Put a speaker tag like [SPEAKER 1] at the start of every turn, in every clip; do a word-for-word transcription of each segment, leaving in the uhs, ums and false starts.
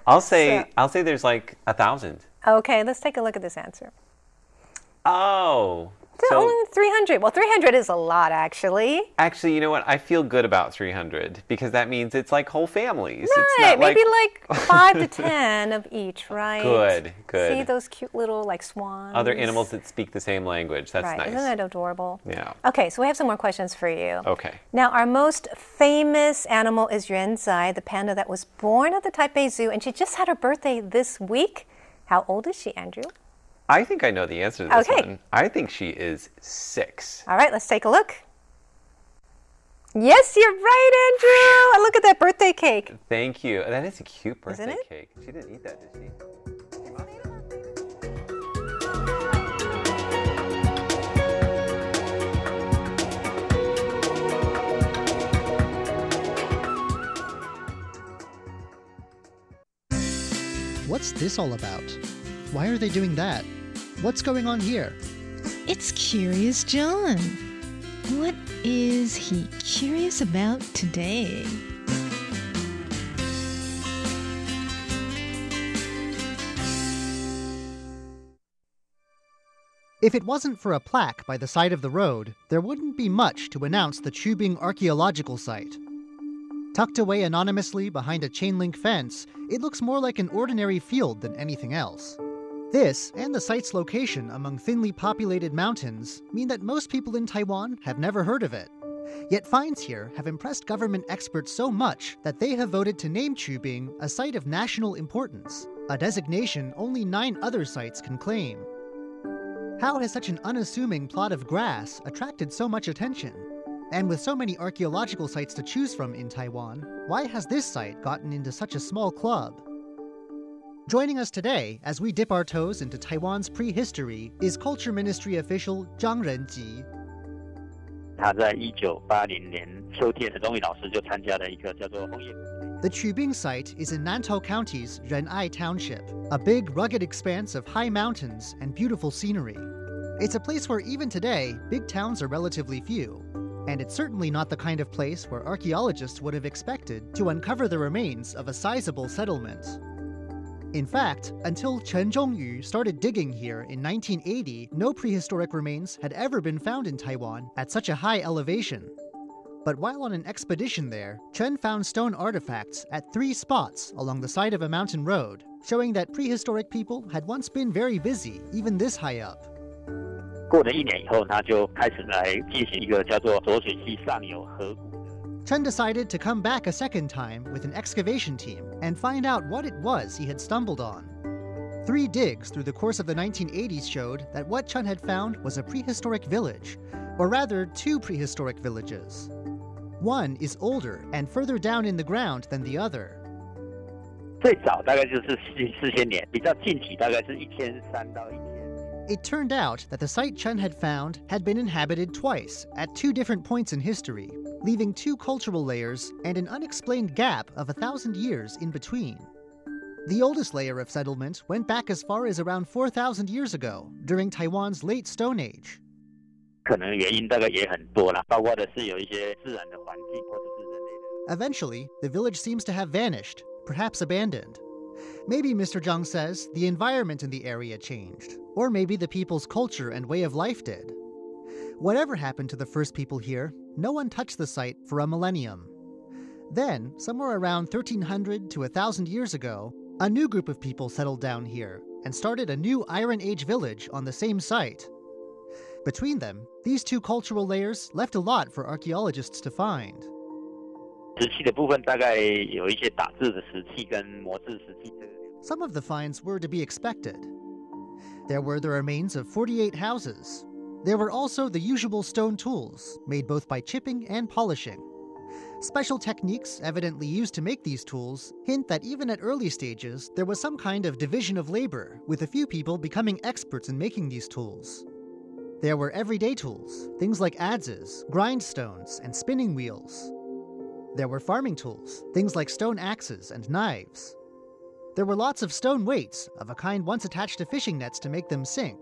[SPEAKER 1] I'll say
[SPEAKER 2] So-
[SPEAKER 1] I'll say there's like a thousand.
[SPEAKER 2] Okay, let's take a look at this answer.
[SPEAKER 1] Oh.
[SPEAKER 2] So,
[SPEAKER 1] So
[SPEAKER 2] only three hundred. Well, three hundred is a lot, actually.
[SPEAKER 1] actually, you know what? I feel good about three hundred because that means it's like whole families.
[SPEAKER 2] Right,
[SPEAKER 1] It's not
[SPEAKER 2] maybe
[SPEAKER 1] like,
[SPEAKER 2] like five to ten of each, right?
[SPEAKER 1] Good, good.
[SPEAKER 2] See those cute little like swans?
[SPEAKER 1] other animals that speak the same language. That's
[SPEAKER 2] Right,
[SPEAKER 1] nice.
[SPEAKER 2] isn't that adorable?
[SPEAKER 1] Yeah.
[SPEAKER 2] Okay, so we have some more questions for you.
[SPEAKER 1] Okay.
[SPEAKER 2] Now, our most famous animal is Yuan Zai, the panda that was born at the Taipei Zoo, and she just had her birthday this week. How old is she, Andrew?
[SPEAKER 1] I think I know the answer to this
[SPEAKER 2] Okay.
[SPEAKER 1] one. I think she is six.
[SPEAKER 2] All right, let's take a look. Yes, you're right, Andrew. And look at that birthday cake.
[SPEAKER 1] Thank you. That is a cute birthday
[SPEAKER 2] Isn't it?
[SPEAKER 1] cake. She didn't eat that, did she?
[SPEAKER 3] What's this all about? Why are they doing that? What's going on here?
[SPEAKER 4] It's Curious John. What is he curious about today?
[SPEAKER 3] If it wasn't for a plaque by the side of the road, there wouldn't be much to announce the Chubing archaeological site. Tucked away anonymously behind a chain-link fence, it looks more like an ordinary field than anything else. This, and the site's location among thinly populated mountains, mean that most people in Taiwan have never heard of it. Yet finds here have impressed government experts so much that they have voted to name Chubing a site of national importance, a designation only nine other sites can claim. How has such an unassuming plot of grass attracted so much attention? And with so many archaeological sites to choose from in Taiwan, why has this site gotten into such a small club? Joining us today as we dip our toes into Taiwan's prehistory is Culture Ministry official Zhang Renji.
[SPEAKER 5] 他在一九八零年秋天，陈宗宇老师就参加了一个叫做红叶。
[SPEAKER 3] The Chubing site is in Nantou County's Ren'ai Township, a big, rugged expanse of high mountains and beautiful scenery. It's a place where even today, big towns are relatively few. And it's certainly not the kind of place where archaeologists would have expected to uncover the remains of a sizable settlement. In fact, until Chen Zhongyu started digging here in nineteen eighty, no prehistoric remains had ever been found in Taiwan at such a high elevation. But while on an expedition there, Chen found stone artifacts at three spots along the side of a mountain road, showing that prehistoric people had once been very busy, even this high up.
[SPEAKER 5] 过了一年以后，他就开始来进行一个叫做浊水溪上游河谷。
[SPEAKER 3] Chen decided to come back a second time with an excavation team and find out what it was he had stumbled on. Three digs through the course of the nineteen eighties showed that what Chen had found was a prehistoric village, or rather two prehistoric villages. One is older and further down in the ground than the other.
[SPEAKER 5] 最早大概就是四四千年，比较近期大概是一千三到一千。
[SPEAKER 3] It turned out that the site Chen had found had been inhabited twice, at two different points in history, leaving two cultural layers and an unexplained gap of a thousand years in between. The oldest layer of settlement went back as far as around four thousand years ago, during Taiwan's late Stone Age.
[SPEAKER 5] 可能原因大概也很多啦，包括的是有一些自然的环境或者是人类的。
[SPEAKER 3] Eventually, the village seems to have vanished, perhaps abandoned. Maybe, Mister Zhang says, the environment in the area changed, or maybe the people's culture and way of life did. Whatever happened to the first people here, no one touched the site for a millennium. Then, somewhere around thirteen hundred to one thousand years ago, a new group of people settled down here and started a new Iron Age village on the same site. Between them, these two cultural layers left a lot for archaeologists to find.
[SPEAKER 5] 石器的部分大概有一些打制的石器跟磨制石器。
[SPEAKER 3] Some of the finds were to be expected. There were the remains of forty-eight houses. There were also the usual stone tools, made both by chipping and polishing. Special techniques evidently used to make these tools hint that even at early stages, there was some kind of division of labor, with a few people becoming experts in making these tools. There were everyday tools, things like adzes, grindstones, and spinning wheels. There were farming tools, things like stone axes and knives. There were lots of stone weights, of a kind once attached to fishing nets to make them sink.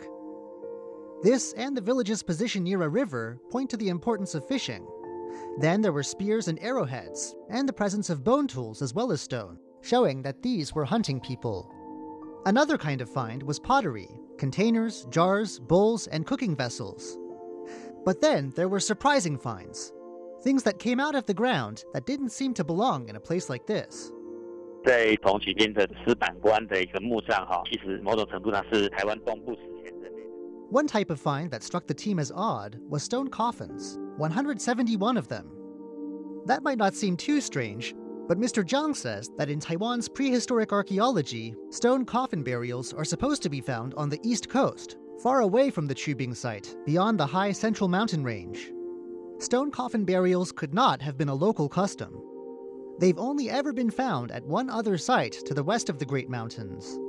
[SPEAKER 3] This and the village's position near a river point to the importance of fishing. Then there were spears and arrowheads, and the presence of bone tools as well as stone, showing that these were hunting people. Another kind of find was pottery, containers, jars, bowls, and cooking vessels. But then there were surprising finds, things that came out of the ground that didn't seem to belong in a place like this.
[SPEAKER 5] 在同期间的石板关的一个墓葬哈，其实某种程度上是台湾东部史前人类。
[SPEAKER 3] One type of find that struck the team as odd was stone coffins, one hundred seventy-one of them. That might not seem too strange, but Mister Zhang says that in Taiwan's prehistoric archaeology, stone coffin burials are supposed to be found on the east coast, far away from the Chubing site, beyond the high central mountain range. Stone coffin burials could not have been a local custom. They've only ever been found at one other site to the west of the Great Mountains.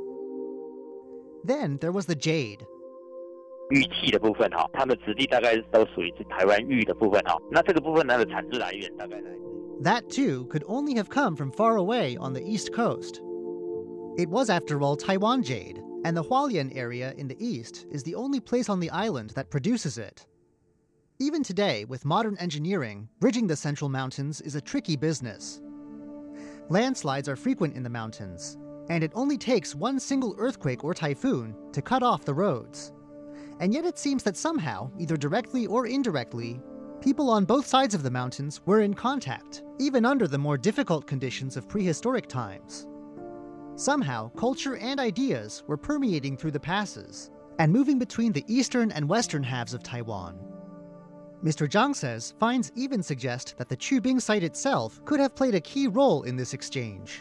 [SPEAKER 3] Then there was the jade.
[SPEAKER 5] 玉器的部分哈，它们质地大概都属于台湾玉的部分哈。那这个部分它的产自来源大概来自
[SPEAKER 3] That too could only have come from far away on the east coast. It was, after all, Taiwan jade, and the Hualien area in the east is the only place on the island that produces it. Even today, with modern engineering, bridging the Central Mountains is a tricky business. Landslides are frequent in the mountains, and it only takes one single earthquake or typhoon to cut off the roads. And yet it seems that somehow, either directly or indirectly, people on both sides of the mountains were in contact, even under the more difficult conditions of prehistoric times. Somehow, culture and ideas were permeating through the passes, and moving between the eastern and western halves of Taiwan. Mister Zhang says finds even suggest that the Chubing site itself could have played a key role in this exchange.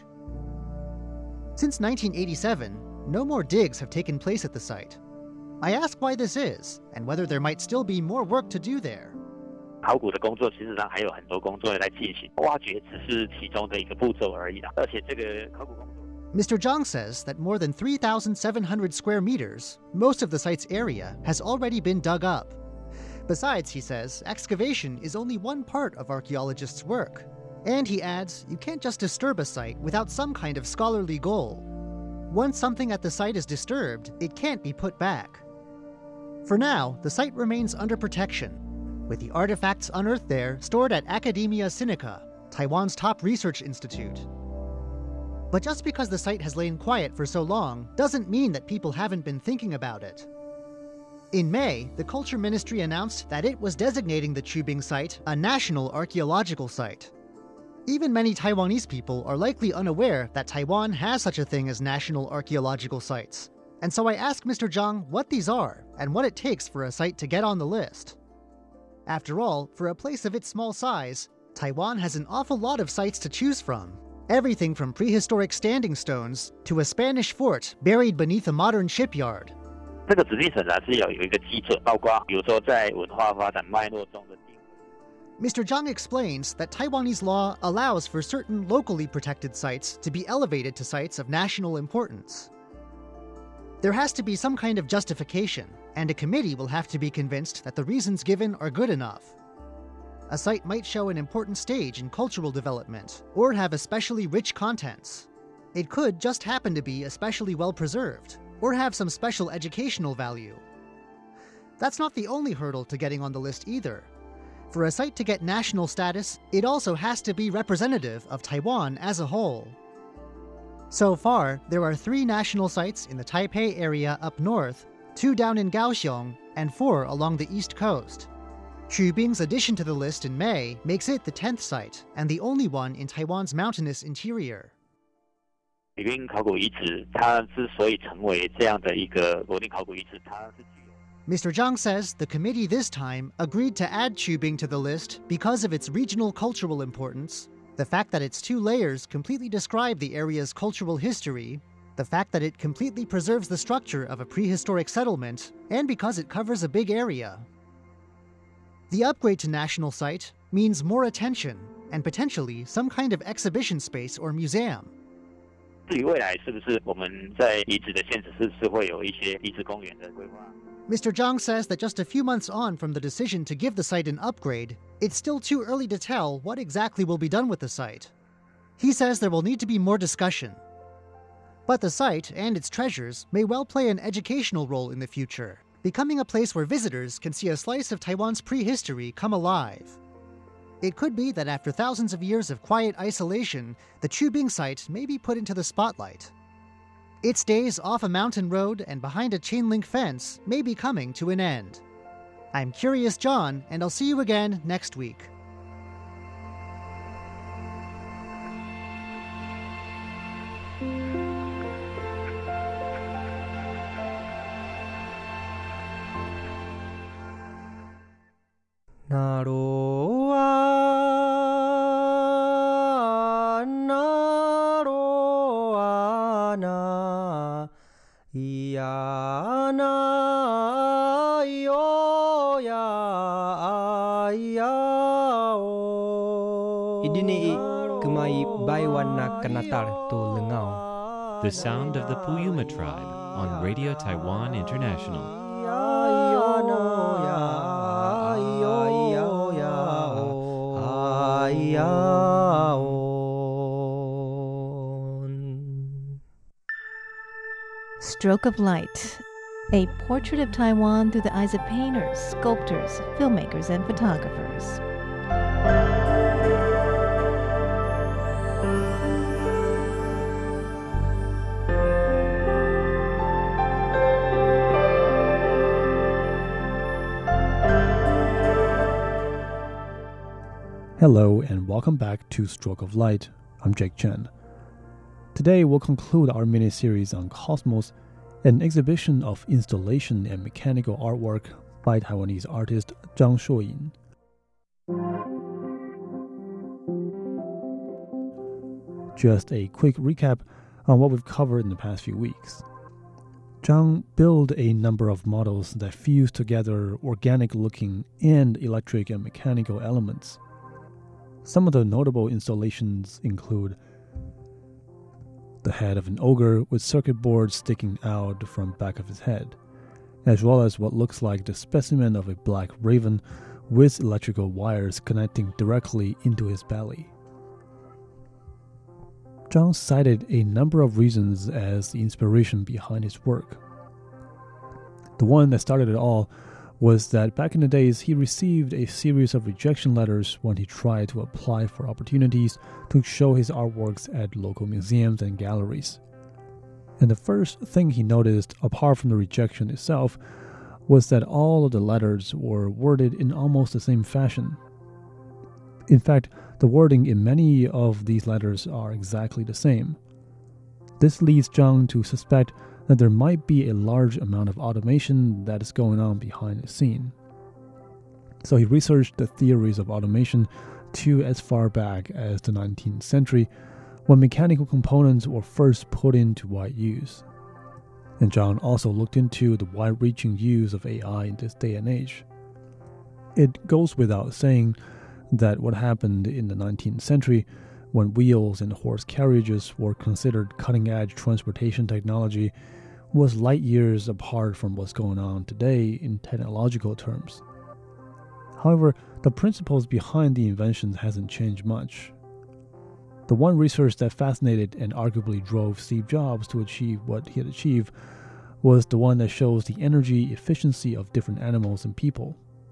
[SPEAKER 3] Since nineteen eighty-seven, no more digs have taken place at the site. I ask why this is, and whether there might still be more work to do there.
[SPEAKER 5] 考古的工作其实上还有很多工作来进行，挖掘只是其中的一个步骤而已啦。而且这个考古工作
[SPEAKER 3] Mister Zhang says that more than three thousand seven hundred square meters, most of the site's area, has already been dug up. Besides, he says, excavation is only one part of archaeologists' work. And he adds, you can't just disturb a site without some kind of scholarly goal. Once something at the site is disturbed, it can't be put back. For now, the site remains under protection, with the artifacts unearthed there stored at Academia Sinica, Taiwan's top research institute. But just because the site has lain quiet for so long doesn't mean that people haven't been thinking about it. In May, the Culture Ministry announced that it was designating the Chubing site a national archaeological site. Even many Taiwanese people are likely unaware that Taiwan has such a thing as national archaeological sites. And so I asked Mister Zhang what these are and what it takes for a site to get on the list. After all, for a place of its small size, Taiwan has an awful lot of sites to choose from. Everything from prehistoric standing stones to a Spanish fort buried beneath a modern shipyard.
[SPEAKER 5] 这个指定审查是要有一个基准，包括比如说在文化发展脉络中的定位。
[SPEAKER 3] Mister Zhang explains that Taiwanese law allows for certain locally protected sites to be elevated to sites of national importance. There has to be some kind of justification, and a committee will have to be convinced that the reasons given are good enough. A site might show an important stage in cultural development, or have especially rich contents. It could just happen to be especially well preserved, or have some special educational value. That's not the only hurdle to getting on the list either. For a site to get national status, it also has to be representative of Taiwan as a whole. So far, there are three national sites in the Taipei area up north, two down in Kaohsiung, and four along the east coast. Chubing's addition to the list in May makes it the tenth site, and the only one in Taiwan's mountainous interior.
[SPEAKER 5] 李冰考古遗址，它之所以成为这样的一个国定考古遗址，它是具有
[SPEAKER 3] Mister Zhang says the committee this time agreed to add Chubing to the list because of its regional cultural importance, the fact that its two layers completely describe the area's cultural history, the fact that it completely preserves the structure of a prehistoric settlement, and because it covers a big area. The upgrade to national site means more attention and potentially some kind of exhibition space or museum.
[SPEAKER 5] 至于未来是不是我们在遗址的现址是不是会有一些遗址公园的规划？
[SPEAKER 3] Mister Zhang says that just a few months on from the decision to give the site an upgrade, it's still too early to tell what exactly will be done with the site. He says there will need to be more discussion. But the site and its treasures may well play an educational role in the future, becoming a place where visitors can see a slice of Taiwan's prehistory come alive. It could be that after thousands of years of quiet isolation, the Chubing site may be put into the spotlight. Its days off a mountain road and behind a chain-link fence may be coming to an end. I'm Curious John, and I'll see you again next week.
[SPEAKER 6] The sound of the Puyuma tribe on Radio Taiwan International.
[SPEAKER 4] Stroke of Light, a portrait of Taiwan through the eyes of painters, sculptors, filmmakers, and photographers.
[SPEAKER 7] Hello and welcome back to Stroke of Light. I'm Jake Chen. Today we'll conclude our mini-series on Cosmos, an exhibition of installation and mechanical artwork by Taiwanese artist Zhang Shuoyin. Just a quick recap on what we've covered in the past few weeks. Zhang built a number of models that fuse together organic-looking and electric and mechanical elements. Some of the notable installations include the head of an ogre with circuit boards sticking out from back of his head, as well as what looks like the specimen of a black raven with electrical wires connecting directly into his belly. Zhang cited a number of reasons as the inspiration behind his work. The one that started it all was that back in the days he received a series of rejection letters when he tried to apply for opportunities to show his artworks at local museums and galleries. And the first thing he noticed, apart from the rejection itself, was that all of the letters were worded in almost the same fashion. In fact, the wording in many of these letters are exactly the same. This leads Zhang to suspect that there might be a large amount of automation that is going on behind the scene. So he researched the theories of automation to as far back as the nineteenth century, when mechanical components were first put into wide use. And Zhang also looked into the wide-reaching use of A I in this day and age. It goes without saying that what happened in the nineteenth century, when wheels and horse carriages were considered cutting-edge transportation technology, was light years apart from what's going on today in technological terms. However, the principles behind the inventions hasn't changed much. The one research that fascinated and arguably drove Steve Jobs to achieve what he had achieved was the one that shows the energy efficiency of different animals and people.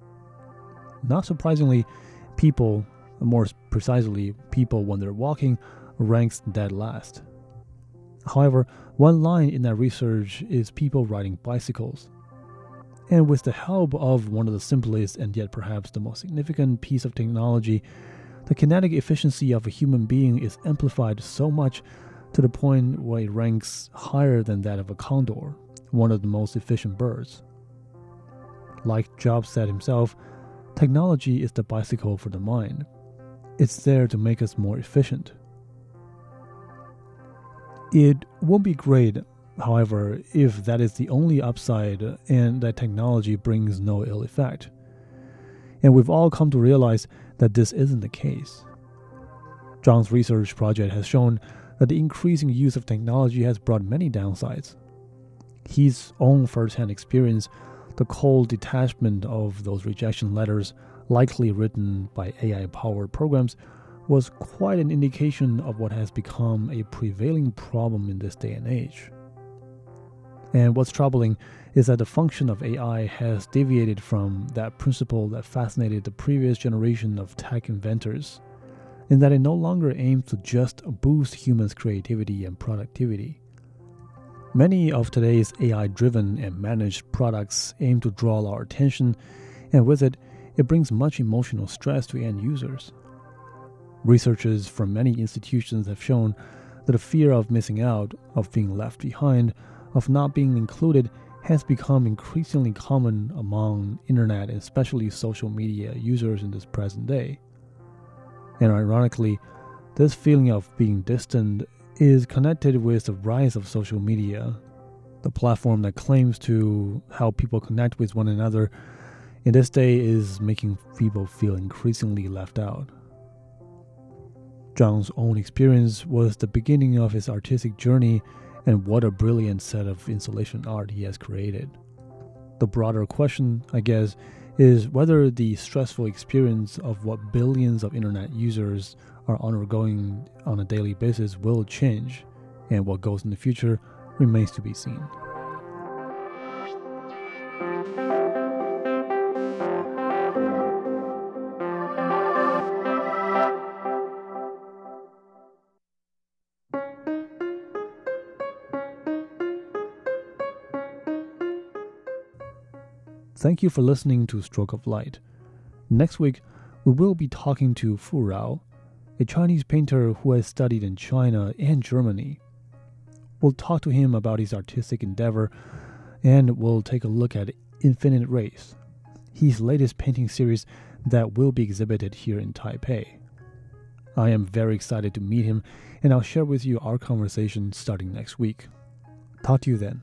[SPEAKER 7] Not surprisingly, people, more precisely people when they're walking, ranks dead last. However, one line in that research is people riding bicycles. And with the help of one of the simplest and yet perhaps the most significant piece of technology, the kinetic efficiency of a human being is amplified so much to the point where it ranks higher than that of a condor, one of the most efficient birds. Like Jobs said himself, technology is the bicycle for the mind. It's there to make us more efficient. It won't be great, however, if that is the only upside and that technology brings no ill effect. And we've all come to realize that this isn't the case. Zhang's research project has shown that the increasing use of technology has brought many downsides. His own first-hand experience, the cold detachment of those rejection letters, likely written by A I-powered programs, was quite an indication of what has become a prevailing problem in this day and age. And what's troubling is that the function of A I has deviated from that principle that fascinated the previous generation of tech inventors, in that it no longer aims to just boost humans' creativity and productivity. Many of today's A I-driven and managed products aim to draw our attention, and with it, it brings much emotional stress to end users. Researchers from many institutions have shown that the fear of missing out, of being left behind, of not being included has become increasingly common among internet and especially social media users in this present day. And ironically, this feeling of being distant is connected with the rise of social media, the platform that claims to help people connect with one another in this day is making people feel increasingly left out. Zhang's own experience was the beginning of his artistic journey, and what a brilliant set of installation art he has created. The broader question, I guess, is whether the stressful experience of what billions of internet users are undergoing on a daily basis will change, and what goes in the future remains to be seen. Thank you for listening to Stroke of Light. Next week, we will be talking to Fu Rao, a Chinese painter who has studied in China and Germany. We'll talk to him about his artistic endeavor, and we'll take a look at Infinite Race, his latest painting series that will be exhibited here in Taipei. I am very excited to meet him, and I'll share with you our conversation starting next week. Talk to you then.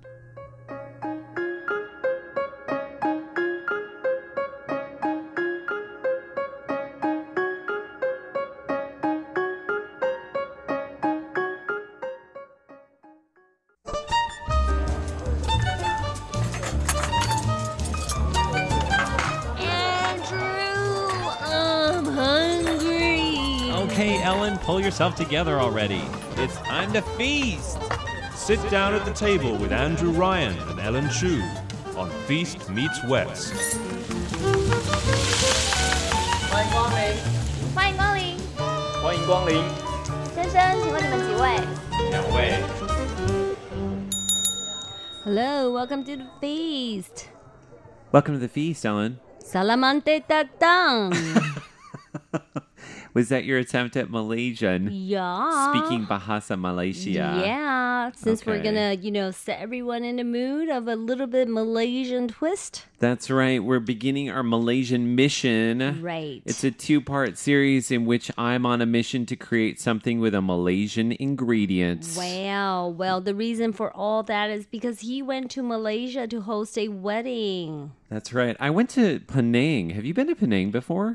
[SPEAKER 6] Okay, Ellen, pull yourself together already. It's time to feast.
[SPEAKER 8] Sit down at the table with Andrew Ryan and Ellen Chu on Feast Meets West.
[SPEAKER 9] 欢迎光临，
[SPEAKER 10] 欢迎光临，
[SPEAKER 9] 欢迎光临。
[SPEAKER 10] 先生，请问你们几位？
[SPEAKER 9] 两位。
[SPEAKER 11] Hello, welcome to the feast.
[SPEAKER 1] Welcome to the feast, Ellen.
[SPEAKER 11] Salamante tatang.
[SPEAKER 1] Was that your attempt at Malaysian?
[SPEAKER 11] Yeah.
[SPEAKER 1] Speaking Bahasa Malaysia.
[SPEAKER 11] Yeah, since
[SPEAKER 1] Okay.
[SPEAKER 11] we're gonna, you know, set everyone in the mood of a little bit Malaysian twist.
[SPEAKER 1] That's right. We're beginning our Malaysian mission.
[SPEAKER 11] Right.
[SPEAKER 1] It's a two-part series in which I'm on a mission to create something with a Malaysian ingredient.
[SPEAKER 11] Wow. Well, the reason for all that is because he went to Malaysia to host a wedding.
[SPEAKER 1] That's right. I went to Penang. Have you been to Penang before?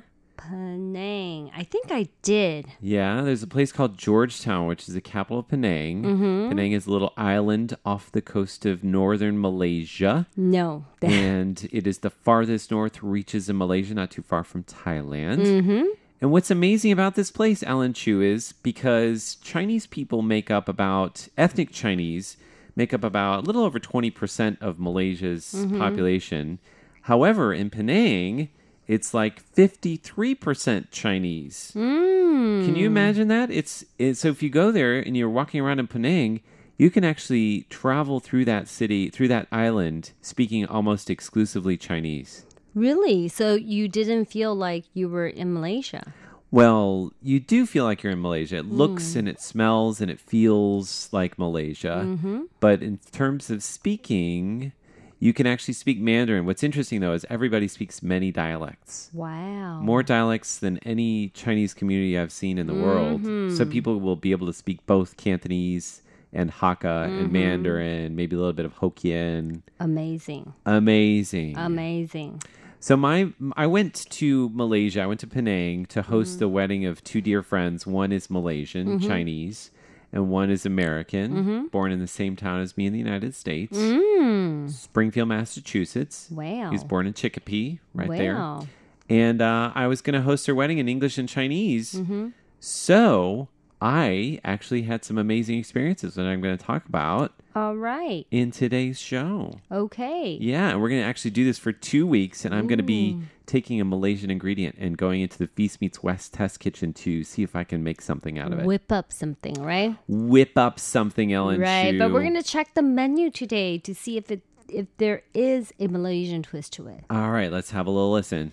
[SPEAKER 11] Penang. I think I did.
[SPEAKER 1] Yeah, there's a place called Georgetown, which is the capital of Penang.
[SPEAKER 11] Mm-hmm.
[SPEAKER 1] Penang is a little island off the coast of northern Malaysia.
[SPEAKER 11] No.
[SPEAKER 1] And it is the farthest north reaches in Malaysia, not too far from Thailand.
[SPEAKER 11] Mm-hmm.
[SPEAKER 1] And what's amazing about this place, Ellen Chu, is because Chinese people make up about, ethnic Chinese, make up about a little over twenty percent of Malaysia's
[SPEAKER 11] Mm-hmm.
[SPEAKER 1] population. However, in Penang, it's like fifty-three percent Chinese.
[SPEAKER 11] Mm.
[SPEAKER 1] Can you imagine that? It's, it's so if you go there and you're walking around in Penang, you can actually travel through that city, through that island, speaking almost exclusively Chinese.
[SPEAKER 11] Really? So you didn't feel like you were in Malaysia?
[SPEAKER 1] Well, you do feel like you're in Malaysia. It looks and it smells and it feels like Malaysia.
[SPEAKER 11] Mm-hmm.
[SPEAKER 1] But in terms of speaking, you can actually speak Mandarin. What's interesting, though, is everybody speaks many dialects.
[SPEAKER 11] Wow.
[SPEAKER 1] More dialects than any Chinese community I've seen in the world.
[SPEAKER 11] Mm-hmm.
[SPEAKER 1] So people will be able to speak both Cantonese and Hakka
[SPEAKER 11] Mm-hmm.
[SPEAKER 1] and Mandarin, maybe a little bit of Hokkien.
[SPEAKER 11] Amazing.
[SPEAKER 1] Amazing.
[SPEAKER 11] Amazing.
[SPEAKER 1] So my I went to Malaysia. I went to Penang to host
[SPEAKER 11] Mm-hmm.
[SPEAKER 1] the wedding of two dear friends. One is Malaysian, Chinese, and one is American,
[SPEAKER 11] Mm-hmm.
[SPEAKER 1] born in the same town as me in the United States.
[SPEAKER 11] Mm.
[SPEAKER 1] Springfield, Massachusetts.
[SPEAKER 11] Wow.
[SPEAKER 1] He was born in Chicopee, right there.
[SPEAKER 11] Wow.
[SPEAKER 1] And uh, I was going to host her wedding in English and Chinese.
[SPEAKER 11] Mm-hmm.
[SPEAKER 1] So I actually had some amazing experiences that I'm going to talk about
[SPEAKER 11] All right.
[SPEAKER 1] in today's show.
[SPEAKER 11] Okay.
[SPEAKER 1] Yeah, and we're going to actually do this for two weeks, and I'm going to be taking a Malaysian ingredient and going into the Feast Meets West test kitchen to see if I can make something out of it.
[SPEAKER 11] Whip up something, right?
[SPEAKER 1] Whip up something, Ellen
[SPEAKER 11] Right,
[SPEAKER 1] Chu.
[SPEAKER 11] but we're going to check the menu today to see if it if there is a Malaysian twist to it.
[SPEAKER 1] All right, let's have a little listen.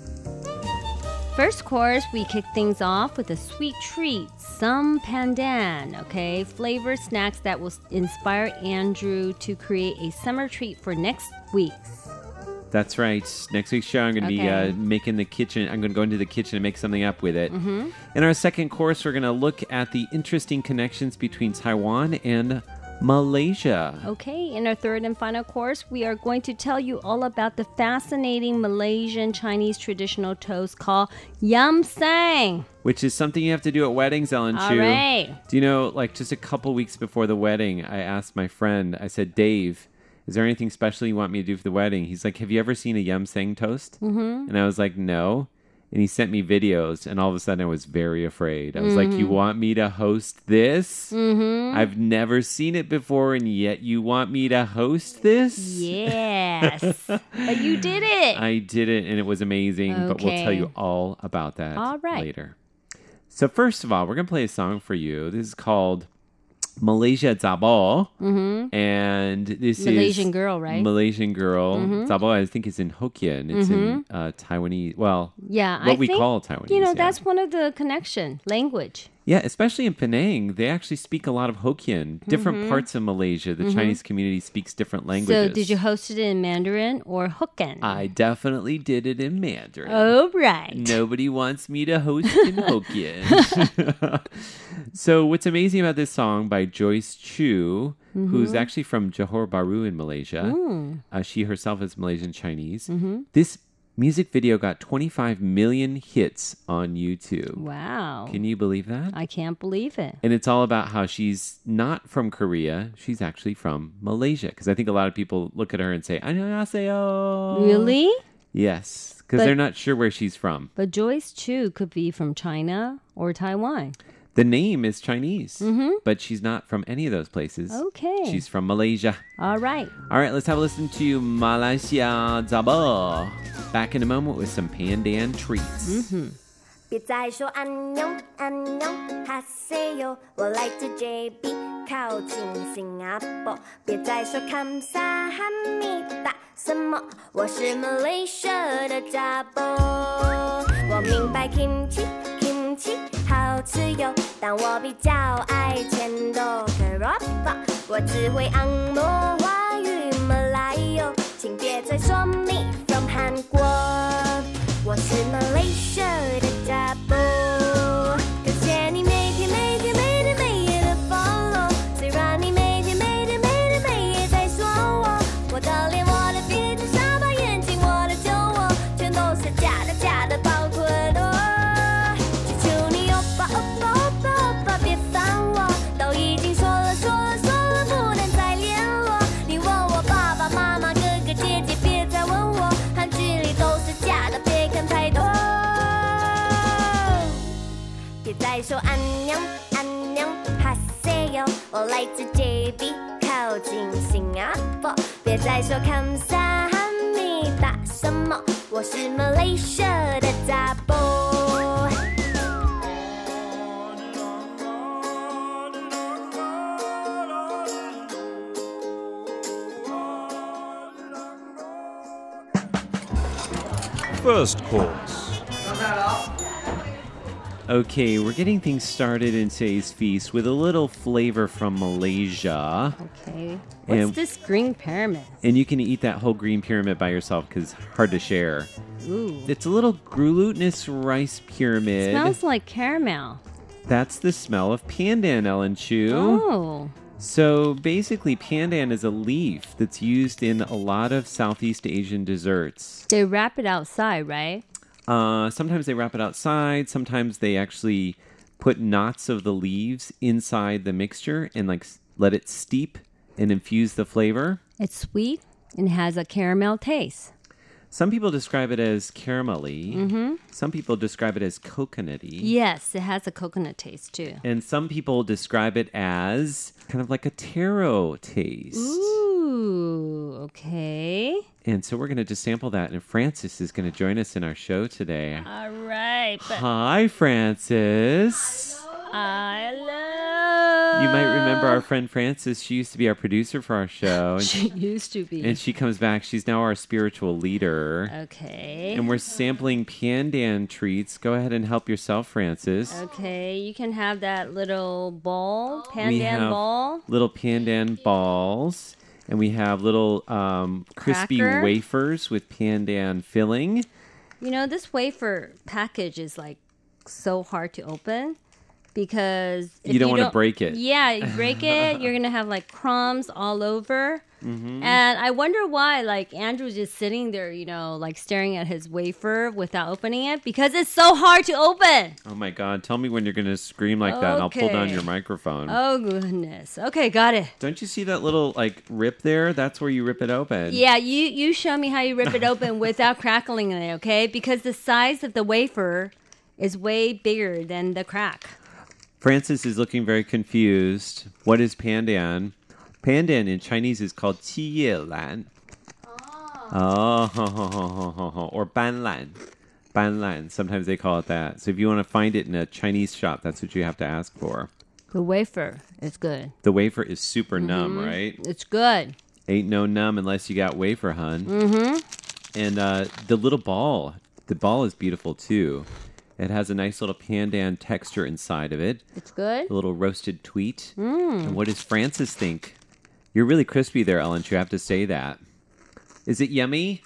[SPEAKER 11] First course, we kick things off with a sweet treat, some pandan, okay? Flavor snacks that will inspire Andrew to create a summer treat for next week's.
[SPEAKER 1] That's right. Next week's show, I'm going to be
[SPEAKER 11] Okay.
[SPEAKER 1] uh, making the kitchen. I'm going to go into the kitchen and make something up with it.
[SPEAKER 11] Mhm.
[SPEAKER 1] In our second course, we're going to look at the interesting connections between Taiwan and Malaysia.
[SPEAKER 11] Okay, in our third and final course, we are going to tell you all about the fascinating Malaysian Chinese traditional toast called Yam Sang.
[SPEAKER 1] Which is something you have to do at weddings, Ellen
[SPEAKER 11] All
[SPEAKER 1] Chu.
[SPEAKER 11] right.
[SPEAKER 1] Do you know, like just a couple weeks before the wedding, I asked my friend, I said, Dave, is there anything special you want me to do for the wedding? He's like, have you ever seen a Yam Sang toast?
[SPEAKER 11] Mhm.
[SPEAKER 1] And I was like, no. And he sent me videos, and all of a sudden I was very afraid. I was like, you
[SPEAKER 11] Mhm.
[SPEAKER 1] want me to host this?
[SPEAKER 11] Mhm.
[SPEAKER 1] I've never seen it before, and yet you want me to host this?
[SPEAKER 11] Yes. But you did it.
[SPEAKER 1] I did it, and it was amazing, but we'll tell
[SPEAKER 11] Okay.
[SPEAKER 1] you all about that
[SPEAKER 11] All right.
[SPEAKER 1] later. So first of all, we're going to play a song for you. This is called Malaysia Zabo.
[SPEAKER 11] Mhm.
[SPEAKER 1] And this
[SPEAKER 11] Malaysian
[SPEAKER 1] is
[SPEAKER 11] girl, right?
[SPEAKER 1] Malaysian girl.
[SPEAKER 11] Mhm.
[SPEAKER 1] Zabo, I think, is in Hokkien. It's in uh, Taiwanese. Well,
[SPEAKER 11] Yeah,
[SPEAKER 1] what
[SPEAKER 11] I
[SPEAKER 1] we
[SPEAKER 11] think,
[SPEAKER 1] call Taiwanese.
[SPEAKER 11] You know,
[SPEAKER 1] yeah.
[SPEAKER 11] that's one of the connection language.
[SPEAKER 1] Yeah, especially in Penang, they actually speak a lot of Hokkien. Different
[SPEAKER 11] Mhm.
[SPEAKER 1] parts of Malaysia, the
[SPEAKER 11] Mhm.
[SPEAKER 1] Chinese community speaks different languages.
[SPEAKER 11] So, did you host it in Mandarin or Hokkien?
[SPEAKER 1] I definitely did it in Mandarin.
[SPEAKER 11] Oh, right.
[SPEAKER 1] Nobody wants me to host in Hokkien. So what's amazing about this song by Joyce Chu, who's
[SPEAKER 11] Mhm.
[SPEAKER 1] actually from Johor Bahru in Malaysia,
[SPEAKER 11] Mm.
[SPEAKER 1] uh, she herself is Malaysian Chinese.
[SPEAKER 11] Mhm.
[SPEAKER 1] This music video got twenty-five million hits on YouTube.
[SPEAKER 11] Wow.
[SPEAKER 1] Can you believe that?
[SPEAKER 11] I can't believe it.
[SPEAKER 1] And it's all about how she's not from Korea. She's actually from Malaysia. Because I think a lot of people look at her and say, 안녕하세요.
[SPEAKER 11] Really?
[SPEAKER 1] Yes. Because
[SPEAKER 11] But-
[SPEAKER 1] they're not sure where she's from.
[SPEAKER 11] But Joyce Chu could be from China or Taiwan.
[SPEAKER 1] The name is Chinese,
[SPEAKER 11] Mhm.
[SPEAKER 1] but she's not from any of those places.
[SPEAKER 11] Okay.
[SPEAKER 1] She's from Malaysia.
[SPEAKER 11] All right.
[SPEAKER 1] All right, let's have a listen to Malaysia Zabo. Back in a moment with some pandan treats.
[SPEAKER 11] Mm-hmm.
[SPEAKER 12] 别再说安妞安妞哈塞哟，我来自 J B 靠近新加坡。别再说 감사 합니다什么？我是 Malaysia 的杂波。我明白 kimchi kimchi 好吃哟，但我比较爱钱多 kerapa。我只会按摩华语马来哟，请别再说 me from 韩国。我是 Malaysia 的杂波，感谢你每天每天每天每夜的 follow， 虽然你每天每天每天每夜在说我，我的脸，我的鼻子，下巴，眼睛，我的酒窝，全都是假的假的，包括我。求求你欧巴欧巴欧巴欧巴别烦我，都已经说了说了说了不能再联络。你问我爸爸妈妈哥哥姐姐，别再问我，韩剧里都是假的，别看太多。别再说安妞安妞哈塞哟，我来自 J B 靠近新加坡。别再说 감사 합니다什么？我是 Malaysia 的杂波。
[SPEAKER 8] First course.
[SPEAKER 1] Okay, we're getting things started in today's feast with a little flavor from Malaysia.
[SPEAKER 11] Okay. What's
[SPEAKER 1] And-
[SPEAKER 11] this green pyramid?
[SPEAKER 1] And you can eat that whole green pyramid by yourself because it's hard to share.
[SPEAKER 11] Ooh.
[SPEAKER 1] It's a little glutinous rice pyramid.
[SPEAKER 11] Smells like caramel.
[SPEAKER 1] That's the smell of pandan, Ellen Chu.
[SPEAKER 11] Oh.
[SPEAKER 1] So basically, pandan is a leaf that's used in a lot of Southeast Asian desserts.
[SPEAKER 11] They wrap it outside, right?
[SPEAKER 1] Uh, sometimes they wrap it outside. Sometimes they actually put knots of the leaves inside the mixture and like s- let it steep and infuse the flavor.
[SPEAKER 11] It's sweet and has a caramel taste.
[SPEAKER 1] Some people describe it as caramelly.
[SPEAKER 11] Mm-hmm.
[SPEAKER 1] Some people describe it as coconutty.
[SPEAKER 11] Yes, it has a coconut taste too.
[SPEAKER 1] And some people describe it as kind of like a taro taste.
[SPEAKER 11] Ooh, okay.
[SPEAKER 1] And so we're going to just sample that. And Frances is going to join us in our show today.
[SPEAKER 11] All right. But
[SPEAKER 1] Hi, Frances.
[SPEAKER 11] Hello.
[SPEAKER 1] You might remember our friend Frances. She used to be our producer for our show. And
[SPEAKER 11] she used to be.
[SPEAKER 1] And she comes back. She's now our spiritual leader.
[SPEAKER 11] Okay.
[SPEAKER 1] And we're sampling pandan treats. Go ahead and help yourself, Frances.
[SPEAKER 11] Okay, you can have that little ball,
[SPEAKER 1] We
[SPEAKER 11] pandan
[SPEAKER 1] have
[SPEAKER 11] ball.
[SPEAKER 1] little pandan balls. And we have little um, crispy
[SPEAKER 11] Cracker.
[SPEAKER 1] wafers with pandan filling.
[SPEAKER 11] You know, this wafer package is like so hard to open because if
[SPEAKER 1] You don't wanna break it.
[SPEAKER 11] Yeah, you break it, you're gonna have like crumbs all over.
[SPEAKER 1] Mm-hmm.
[SPEAKER 11] And I wonder why, like, Andrew's just sitting there, you know, like staring at his wafer without opening it because it's so hard to open.
[SPEAKER 1] Oh my God. Tell me when you're going to scream like that and I'll pull down
[SPEAKER 11] Okay.
[SPEAKER 1] your microphone.
[SPEAKER 11] Oh, goodness. Okay, got it.
[SPEAKER 1] Don't you see that little like rip there? That's where you rip it open.
[SPEAKER 11] Yeah, you, you show me how you rip it open without crackling it, okay? Because the size of the wafer is way bigger than the crack.
[SPEAKER 1] Frances is looking very confused. What is pandan? Pandan in Chinese is called qi ye lan. Oh, ho, ho, ho, ho, ho, ho. Or ban lan. Ban lan. Sometimes they call it that. So if you want to find it in a Chinese shop, that's what you have to ask for.
[SPEAKER 11] The wafer is good.
[SPEAKER 1] The wafer is super numb,
[SPEAKER 11] Mhm.
[SPEAKER 1] right?
[SPEAKER 11] It's good.
[SPEAKER 1] Ain't no numb unless you got wafer, hun.
[SPEAKER 11] Mm-hmm.
[SPEAKER 1] And uh, the little ball, the ball is beautiful too. It has a nice little pandan texture inside of it.
[SPEAKER 11] It's good.
[SPEAKER 1] A little roasted tweet.
[SPEAKER 11] Mm.
[SPEAKER 1] And what does Frances think? You're really crispy there, Ellen. You have to say that. Is it yummy?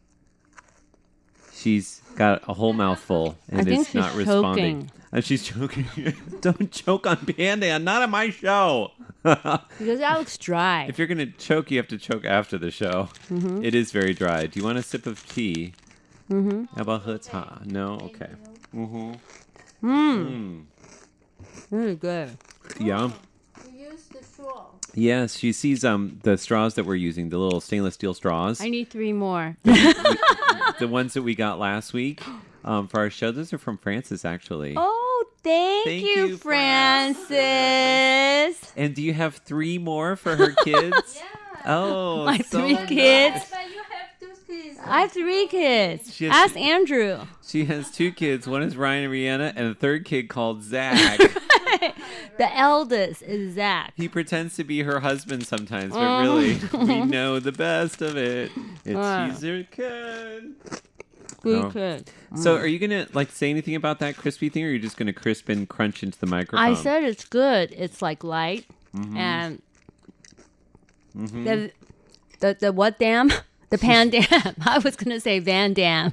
[SPEAKER 1] She's got a whole mouthful and
[SPEAKER 11] I think
[SPEAKER 1] is not
[SPEAKER 11] she's
[SPEAKER 1] responding.
[SPEAKER 11] choking.
[SPEAKER 1] And she's choking. Don't choke on pandan. Not on my show.
[SPEAKER 11] Because that looks dry.
[SPEAKER 1] If you're going to choke, you have to choke after the show.
[SPEAKER 11] Mhm.
[SPEAKER 1] It is very dry. Do you want a sip of tea?
[SPEAKER 11] Mm-hmm.
[SPEAKER 1] How about her tea? No? Okay. Mm-hmm.
[SPEAKER 11] Mmm. Really good.
[SPEAKER 1] Yeah.
[SPEAKER 10] You use the straw.
[SPEAKER 1] Yes, she sees um the straws that we're using, the little stainless steel straws.
[SPEAKER 11] I need three more.
[SPEAKER 1] The ones that we got last week um, for our show. Those are from Frances, actually.
[SPEAKER 11] Oh, thank,
[SPEAKER 1] Thank
[SPEAKER 11] you,
[SPEAKER 1] you,
[SPEAKER 11] Francis.
[SPEAKER 1] And do you have three more for her kids? Oh,
[SPEAKER 11] My
[SPEAKER 1] so
[SPEAKER 11] three
[SPEAKER 1] nice.
[SPEAKER 11] kids.
[SPEAKER 10] But you have two kids.
[SPEAKER 11] I have three kids.
[SPEAKER 1] She has-
[SPEAKER 11] Ask Andrew.
[SPEAKER 1] She has two kids. One is Ryan and Rihanna, and a third kid called Zach.
[SPEAKER 11] The eldest is Zach.
[SPEAKER 1] He pretends to be her husband sometimes, but
[SPEAKER 11] Oh.
[SPEAKER 1] really, we know the best of it. It's
[SPEAKER 11] Wow.
[SPEAKER 1] she's her kid.
[SPEAKER 11] Good
[SPEAKER 1] Oh.
[SPEAKER 11] kid.
[SPEAKER 1] So,
[SPEAKER 11] Mm.
[SPEAKER 1] are you gonna like say anything about that crispy thing, or are you just gonna crisp and crunch into the microphone?
[SPEAKER 11] I said it's good. It's like light
[SPEAKER 1] Mhm.
[SPEAKER 11] and
[SPEAKER 1] Mhm.
[SPEAKER 11] the, the the what dam? The Pan Dam. I was gonna say Van Dam.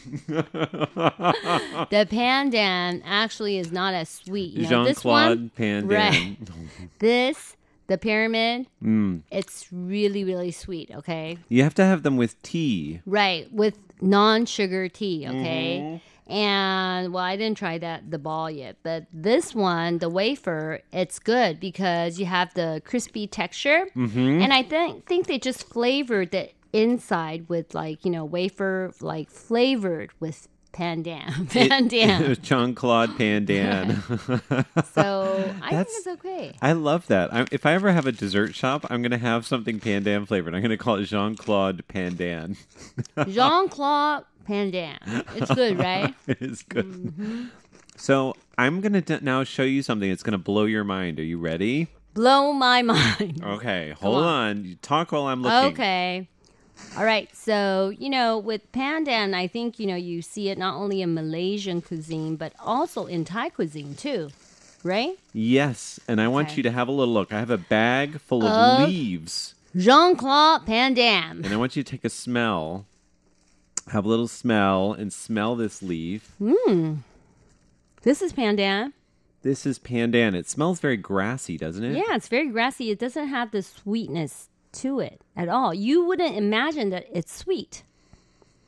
[SPEAKER 11] The Pandan actually is not as sweet. You know, this one,
[SPEAKER 1] Jean-Claude Pandan.
[SPEAKER 11] right? This, the pyramid,
[SPEAKER 1] Mm.
[SPEAKER 11] it's really really sweet. Okay,
[SPEAKER 1] You have to have them with tea.
[SPEAKER 11] right, with non-sugar tea. Okay.
[SPEAKER 1] Mhm.
[SPEAKER 11] And well, I didn't try that the ball yet, but this one, the wafer, it's good because you have the crispy texture,
[SPEAKER 1] Mhm.
[SPEAKER 11] and I think think they just flavored the inside with like you know wafer like flavored with pandan, pandan.
[SPEAKER 1] Jean-Claude Pandan.
[SPEAKER 11] So I think
[SPEAKER 1] That's-
[SPEAKER 11] it's okay.
[SPEAKER 1] I love that. I, if I ever have a dessert shop, I'm going to have something pandan flavored. I'm going to call it Jean-Claude Pandan.
[SPEAKER 11] Jean Claude Pandan. It's good, right?
[SPEAKER 1] It is good.
[SPEAKER 11] Mm-hmm.
[SPEAKER 1] So I'm going to d- now show you something that's going to blow your mind. Are you ready?
[SPEAKER 11] Blow my mind.
[SPEAKER 1] Okay, hold on. You talk while I'm looking.
[SPEAKER 11] Okay. All right. So, you know, with pandan, I think, you know, you see it not only in Malaysian cuisine, but also in Thai cuisine too, right?
[SPEAKER 1] Yes, and I want
[SPEAKER 11] Okay.
[SPEAKER 1] you to have a little look. I have a bag full of
[SPEAKER 11] Of-
[SPEAKER 1] leaves,
[SPEAKER 11] Jean-Claude Pandan.
[SPEAKER 1] and I want you to take a smell. Have a little smell and smell this leaf.
[SPEAKER 11] Hmm. This is pandan.
[SPEAKER 1] This is pandan. It smells very grassy, doesn't it?
[SPEAKER 11] Yeah, it's very grassy. It doesn't have the sweetness to it at all. You wouldn't imagine that it's sweet.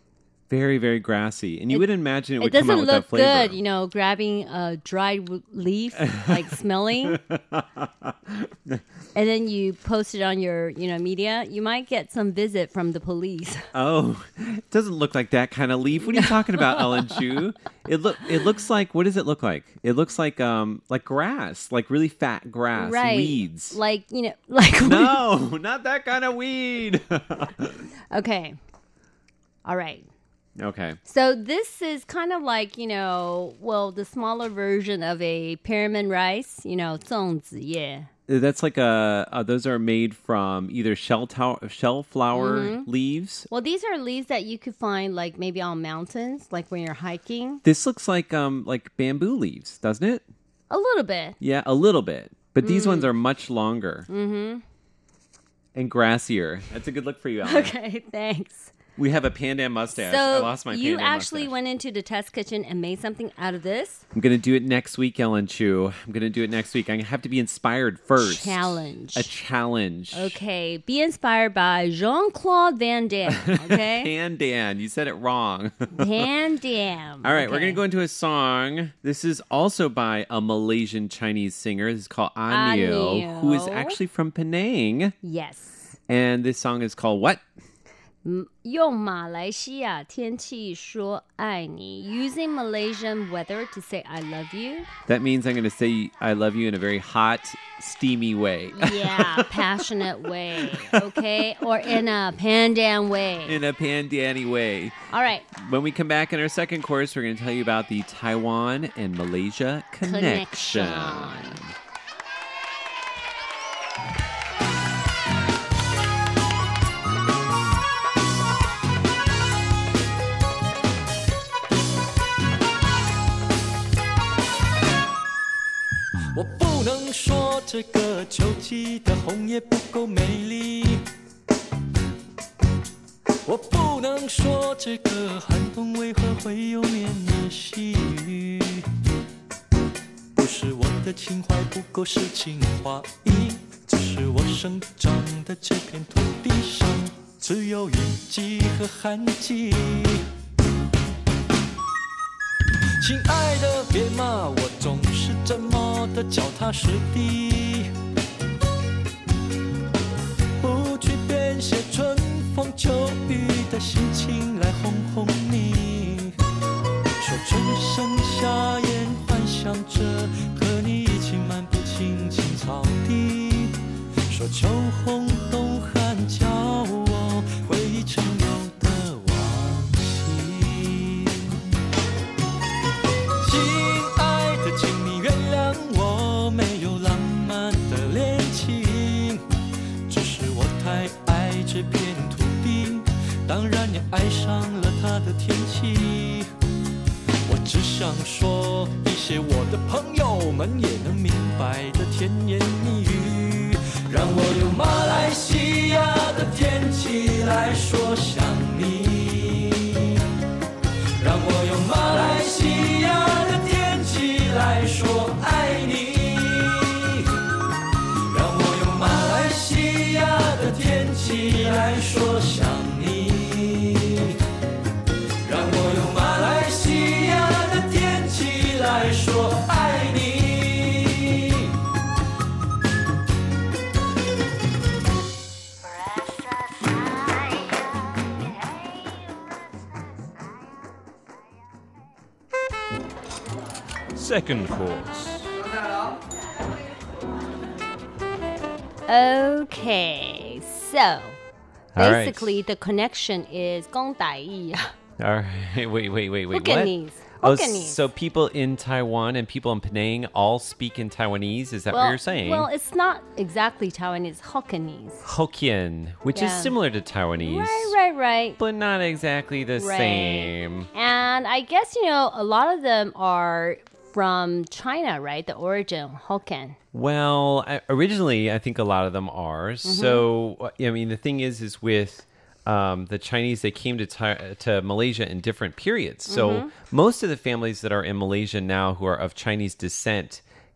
[SPEAKER 1] Very, very grassy. And you
[SPEAKER 11] It-
[SPEAKER 1] wouldn't imagine it
[SPEAKER 11] It
[SPEAKER 1] would come out
[SPEAKER 11] doesn't
[SPEAKER 1] with
[SPEAKER 11] look
[SPEAKER 1] that flavor.
[SPEAKER 11] good, you know, grabbing a dried w- leaf, like smelling, and then you post it on your, you know, media. You might get some visit from the police.
[SPEAKER 1] Oh, it doesn't look like that kind of leaf. What are you talking about, Ellen Chu? It look it looks like, what does it look like? It looks like um like grass, like really fat grass,
[SPEAKER 11] Right.
[SPEAKER 1] weeds.
[SPEAKER 11] Like, you know, like...
[SPEAKER 1] No, not that kind of weed.
[SPEAKER 11] Okay. All right.
[SPEAKER 1] Okay.
[SPEAKER 11] So this is kind of like, you know, well, the smaller version of a pyramid rice, you know, 粽子叶.
[SPEAKER 1] That's like a, uh, those are made from either shell tow- shell flower
[SPEAKER 11] Mhm.
[SPEAKER 1] leaves.
[SPEAKER 11] Well, these are leaves that you could find like maybe on mountains, like when you're hiking.
[SPEAKER 1] This looks like um like bamboo leaves, doesn't it?
[SPEAKER 11] A little bit.
[SPEAKER 1] Yeah, a little bit. But these
[SPEAKER 11] Mm.
[SPEAKER 1] ones are much longer
[SPEAKER 11] Mm-hmm.
[SPEAKER 1] and grassier. That's a good look for you, Ellen.
[SPEAKER 11] Okay, thanks.
[SPEAKER 1] We have a pandan mustache.
[SPEAKER 11] So
[SPEAKER 1] I lost my
[SPEAKER 11] you
[SPEAKER 1] pandan
[SPEAKER 11] actually
[SPEAKER 1] mustache.
[SPEAKER 11] went into the test kitchen and made something out of this?
[SPEAKER 1] I'm going to do it next week, Ellen Chu. I'm going to do it next week. I have to be inspired first.
[SPEAKER 11] Challenge.
[SPEAKER 1] A challenge.
[SPEAKER 11] Okay, be inspired by Jean-Claude Van Damme, okay?
[SPEAKER 1] Pandan. You said it wrong.
[SPEAKER 11] Van Damme.
[SPEAKER 1] All right, we're
[SPEAKER 11] Okay.
[SPEAKER 1] going to go into a song. This is also by a Malaysian Chinese singer. This is called Anio,
[SPEAKER 11] Anio.
[SPEAKER 1] who is actually from Penang.
[SPEAKER 11] Yes.
[SPEAKER 1] And this song is called what?
[SPEAKER 11] 用马来西亚天气说爱你 using Malaysian weather to say I love you.
[SPEAKER 1] That means I'm going to say I love you in a very hot, steamy way.
[SPEAKER 11] Yeah, passionate way, okay? Or in a pandan way.
[SPEAKER 1] In a pandani way.
[SPEAKER 11] All right.
[SPEAKER 1] When we come back in our second course, we're going to tell you about the Taiwan and Malaysia connection.
[SPEAKER 11] Connection.
[SPEAKER 13] 我不能说这个秋季的红叶不够美丽，我不能说这个寒冬为何会有绵绵细雨，不是我的情怀不够诗情画意，只是我生长的这片土地上只有雨季和旱季。亲爱的，别骂我总是这么的脚踏实地，不去编写春风秋雨的心情来哄哄你。说春生夏燕，幻想着和你一起漫步青青草地。说秋红冬寒，叫我回忆陈旧的往昔。亲爱的，请你原谅我没有浪漫的恋情，只是我太爱这片土地，当然也爱上了它的天气。我只想说一些我的朋友们也能明白的甜言蜜语，让我用马来西亚的天气来说想你，让我用马来西亚的天气来说爱你，让我用马来西亚的天气来说想你，让我用马来西亚的天气来说爱你。
[SPEAKER 8] Second course.
[SPEAKER 11] Okay, so
[SPEAKER 1] All right.
[SPEAKER 11] basically the connection is 公台语.
[SPEAKER 1] All right. Wait, wait, wait, wait.
[SPEAKER 11] Hokkien-ese.
[SPEAKER 1] What? Oh,
[SPEAKER 11] Hokkien-ese.
[SPEAKER 1] so people in Taiwan and people in Penang all speak in Taiwanese? Is that
[SPEAKER 11] well,
[SPEAKER 1] what you're saying?
[SPEAKER 11] Well, it's not exactly Taiwanese, Hokkien-ese.
[SPEAKER 1] Hokkien, which
[SPEAKER 11] Yeah.
[SPEAKER 1] is similar to Taiwanese.
[SPEAKER 11] Right, right, right.
[SPEAKER 1] But not exactly the
[SPEAKER 11] Right.
[SPEAKER 1] same.
[SPEAKER 11] And I guess, you know, a lot of them are from China, right? The origin, Hokkien.
[SPEAKER 1] Well, I, originally, I think a lot of them are.
[SPEAKER 11] Mm-hmm.
[SPEAKER 1] So, I mean, the thing is, is with um, the Chinese, they came to Thai- to Malaysia in different periods. So,
[SPEAKER 11] Mhm.
[SPEAKER 1] most of the families that are in Malaysia now who are of Chinese descent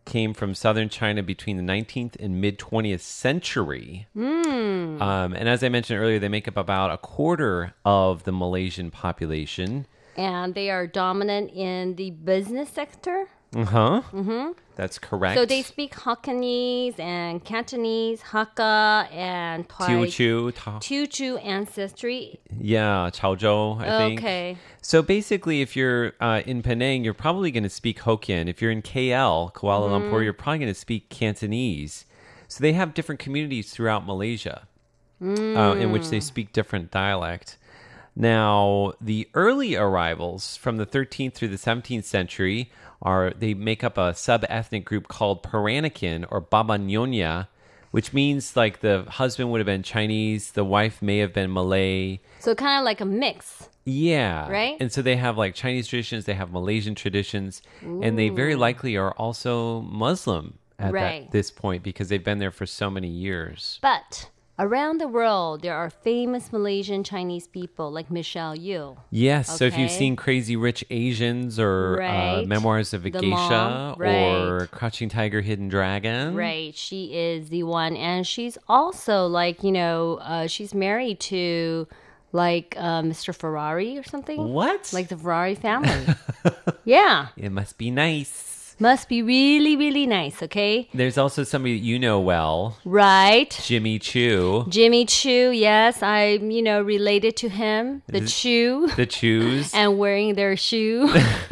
[SPEAKER 1] came from southern China between the nineteenth and mid-twentieth century.
[SPEAKER 11] Mm.
[SPEAKER 1] Um, and as I mentioned earlier, they make up about a quarter of the Malaysian population.
[SPEAKER 11] And they are dominant in the business sector.
[SPEAKER 1] Uh-huh.
[SPEAKER 11] Mm-hmm.
[SPEAKER 1] That's correct.
[SPEAKER 11] So they speak Hokkien and Cantonese, Hakka, and
[SPEAKER 1] Teochew. Ta-
[SPEAKER 11] Teochew ancestry.
[SPEAKER 1] Yeah, Chaozhou, I think.
[SPEAKER 11] Okay.
[SPEAKER 1] So basically, if you're uh, in Penang, you're probably going to speak Hokkien. If you're in K L, Kuala
[SPEAKER 11] Mm-hmm.
[SPEAKER 1] Lumpur, you're probably going to speak Cantonese. So they have different communities throughout Malaysia
[SPEAKER 11] Mm.
[SPEAKER 1] uh, in which they speak different dialect. Now, the early arrivals from the thirteenth through the seventeenth century are, they make up a sub-ethnic group called Peranakan or Baba Nyonya, which means like the husband would have been Chinese, the wife may have been Malay.
[SPEAKER 11] So kind of like a mix.
[SPEAKER 1] Yeah.
[SPEAKER 11] Right?
[SPEAKER 1] And so they have like Chinese traditions, they have Malaysian traditions, and they very likely are also Muslim at
[SPEAKER 11] Right.
[SPEAKER 1] that, this point because they've been there for so many years.
[SPEAKER 11] But around the world, there are famous Malaysian Chinese people like Michelle Yeoh.
[SPEAKER 1] Yes, so if you've
[SPEAKER 11] Okay.
[SPEAKER 1] seen Crazy Rich Asians or uh,
[SPEAKER 11] Right.
[SPEAKER 1] Memoirs of a
[SPEAKER 11] The
[SPEAKER 1] Geisha
[SPEAKER 11] mom,
[SPEAKER 1] or
[SPEAKER 11] right.
[SPEAKER 1] Crouching Tiger, Hidden Dragon.
[SPEAKER 11] Right, she is the one, and she's also like, you know, uh, she's married to like uh, Mister Ferrari or something.
[SPEAKER 1] What?
[SPEAKER 11] Like the Ferrari family. Yeah,
[SPEAKER 1] It must be nice.
[SPEAKER 11] must be really, really nice. Okay,
[SPEAKER 1] There's also somebody that you know well,
[SPEAKER 11] right.
[SPEAKER 1] Jimmy Choo.
[SPEAKER 11] Jimmy Choo, yes, I'm, you know, related to him, the
[SPEAKER 1] Is it-
[SPEAKER 11] Choo,
[SPEAKER 1] The Choos.
[SPEAKER 11] and wearing their shoe.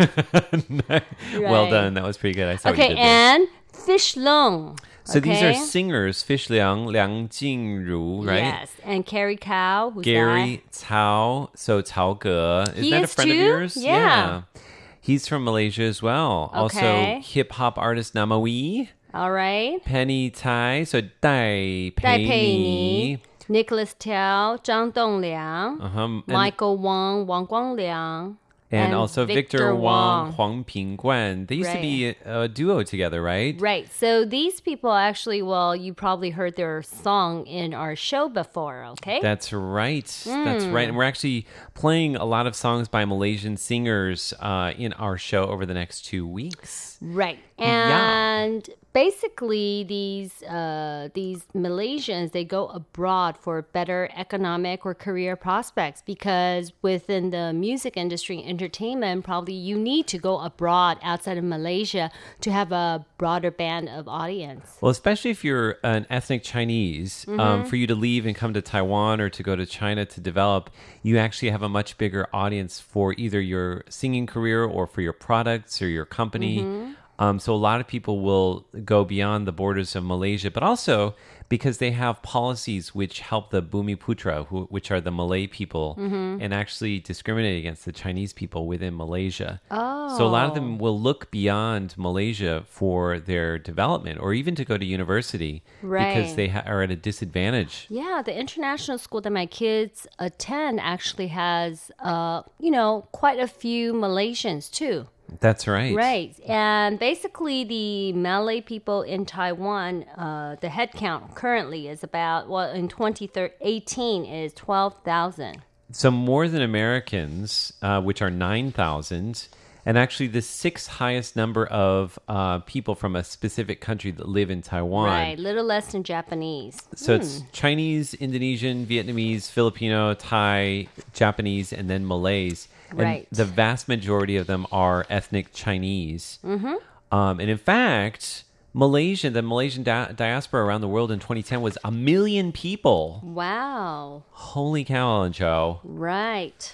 [SPEAKER 1] Well done. That was pretty good. I saw what you
[SPEAKER 11] Okay,
[SPEAKER 1] did there.
[SPEAKER 11] and Fish Long.
[SPEAKER 1] So these are
[SPEAKER 11] okay?
[SPEAKER 1] singers, Fish Liang, Liang Jingru, right?
[SPEAKER 11] Yes, and Carrie Cow, who's
[SPEAKER 1] Gary Cao, so Cao Ge. Isn't
[SPEAKER 11] He
[SPEAKER 1] that a
[SPEAKER 11] is
[SPEAKER 1] friend
[SPEAKER 11] too?
[SPEAKER 1] of yours?
[SPEAKER 11] Yeah.
[SPEAKER 1] He's from Malaysia as well.
[SPEAKER 11] Okay.
[SPEAKER 1] Also, hip hop artist Namawi,
[SPEAKER 11] that? All right.
[SPEAKER 1] Penny Tai, so Dai
[SPEAKER 11] Dai
[SPEAKER 1] Pei
[SPEAKER 11] Pei
[SPEAKER 1] Ni.
[SPEAKER 11] Ni, Nicholas Tiao, Zhang Dongliang,
[SPEAKER 1] Uh-huh. And,
[SPEAKER 11] Michael Wang, Wang Guangliang,
[SPEAKER 1] and also Victor, Wang, Huang Pingguan. They used to
[SPEAKER 11] Right.
[SPEAKER 1] be a, a duo together, right?
[SPEAKER 11] Right. So these people actually, well, you probably heard their song in our show before, okay?
[SPEAKER 1] That's right. That's
[SPEAKER 11] Mm.
[SPEAKER 1] right. And we're actually playing a lot of songs by Malaysian singers uh, in our show over the next two weeks.
[SPEAKER 11] Right.
[SPEAKER 1] Yeah.
[SPEAKER 11] And basically these uh, these Malaysians, they go abroad for better economic or career prospects because within the music industry and entertainment, probably you need to go abroad outside of Malaysia to have a broader band of audience.
[SPEAKER 1] Well, especially if you're an ethnic Chinese, um,
[SPEAKER 11] Mhm.
[SPEAKER 1] for you to leave and come to Taiwan or to go to China to develop, you actually have a much bigger audience for either your singing career or for your products or your company.
[SPEAKER 11] Mhm.
[SPEAKER 1] Um, so a lot of people will go beyond the borders of Malaysia, but also because they have policies which help the Bumiputra, who, which are the Malay people,
[SPEAKER 11] Mhm.
[SPEAKER 1] and actually discriminate against the Chinese people within Malaysia.
[SPEAKER 11] Oh.
[SPEAKER 1] So a lot of them will look beyond Malaysia for their development or even to go to university because
[SPEAKER 11] Right.
[SPEAKER 1] they ha- are at a disadvantage.
[SPEAKER 11] Yeah, the international school that my kids attend actually has, uh, you know, quite a few Malaysians too.
[SPEAKER 1] That's right.
[SPEAKER 11] Right. And basically, the Malay people in Taiwan, uh, the head count currently is about, well, in twenty eighteen is twelve thousand.
[SPEAKER 1] So more than Americans, uh, which are nine thousand, and actually the sixth highest number of uh, people from a specific country that live in Taiwan.
[SPEAKER 11] Right. Little less than Japanese.
[SPEAKER 1] So
[SPEAKER 11] Hmm.
[SPEAKER 1] it's Chinese, Indonesian, Vietnamese, Filipino, Thai, Japanese, and then Malays. And
[SPEAKER 11] Right.
[SPEAKER 1] the vast majority of them are ethnic Chinese.
[SPEAKER 11] Mm-hmm.
[SPEAKER 1] Um, and in fact, Malaysia, the Malaysian di- diaspora around the world in twenty ten was a million people.
[SPEAKER 11] Wow.
[SPEAKER 1] Holy cow, Ellen Joe.
[SPEAKER 11] Right.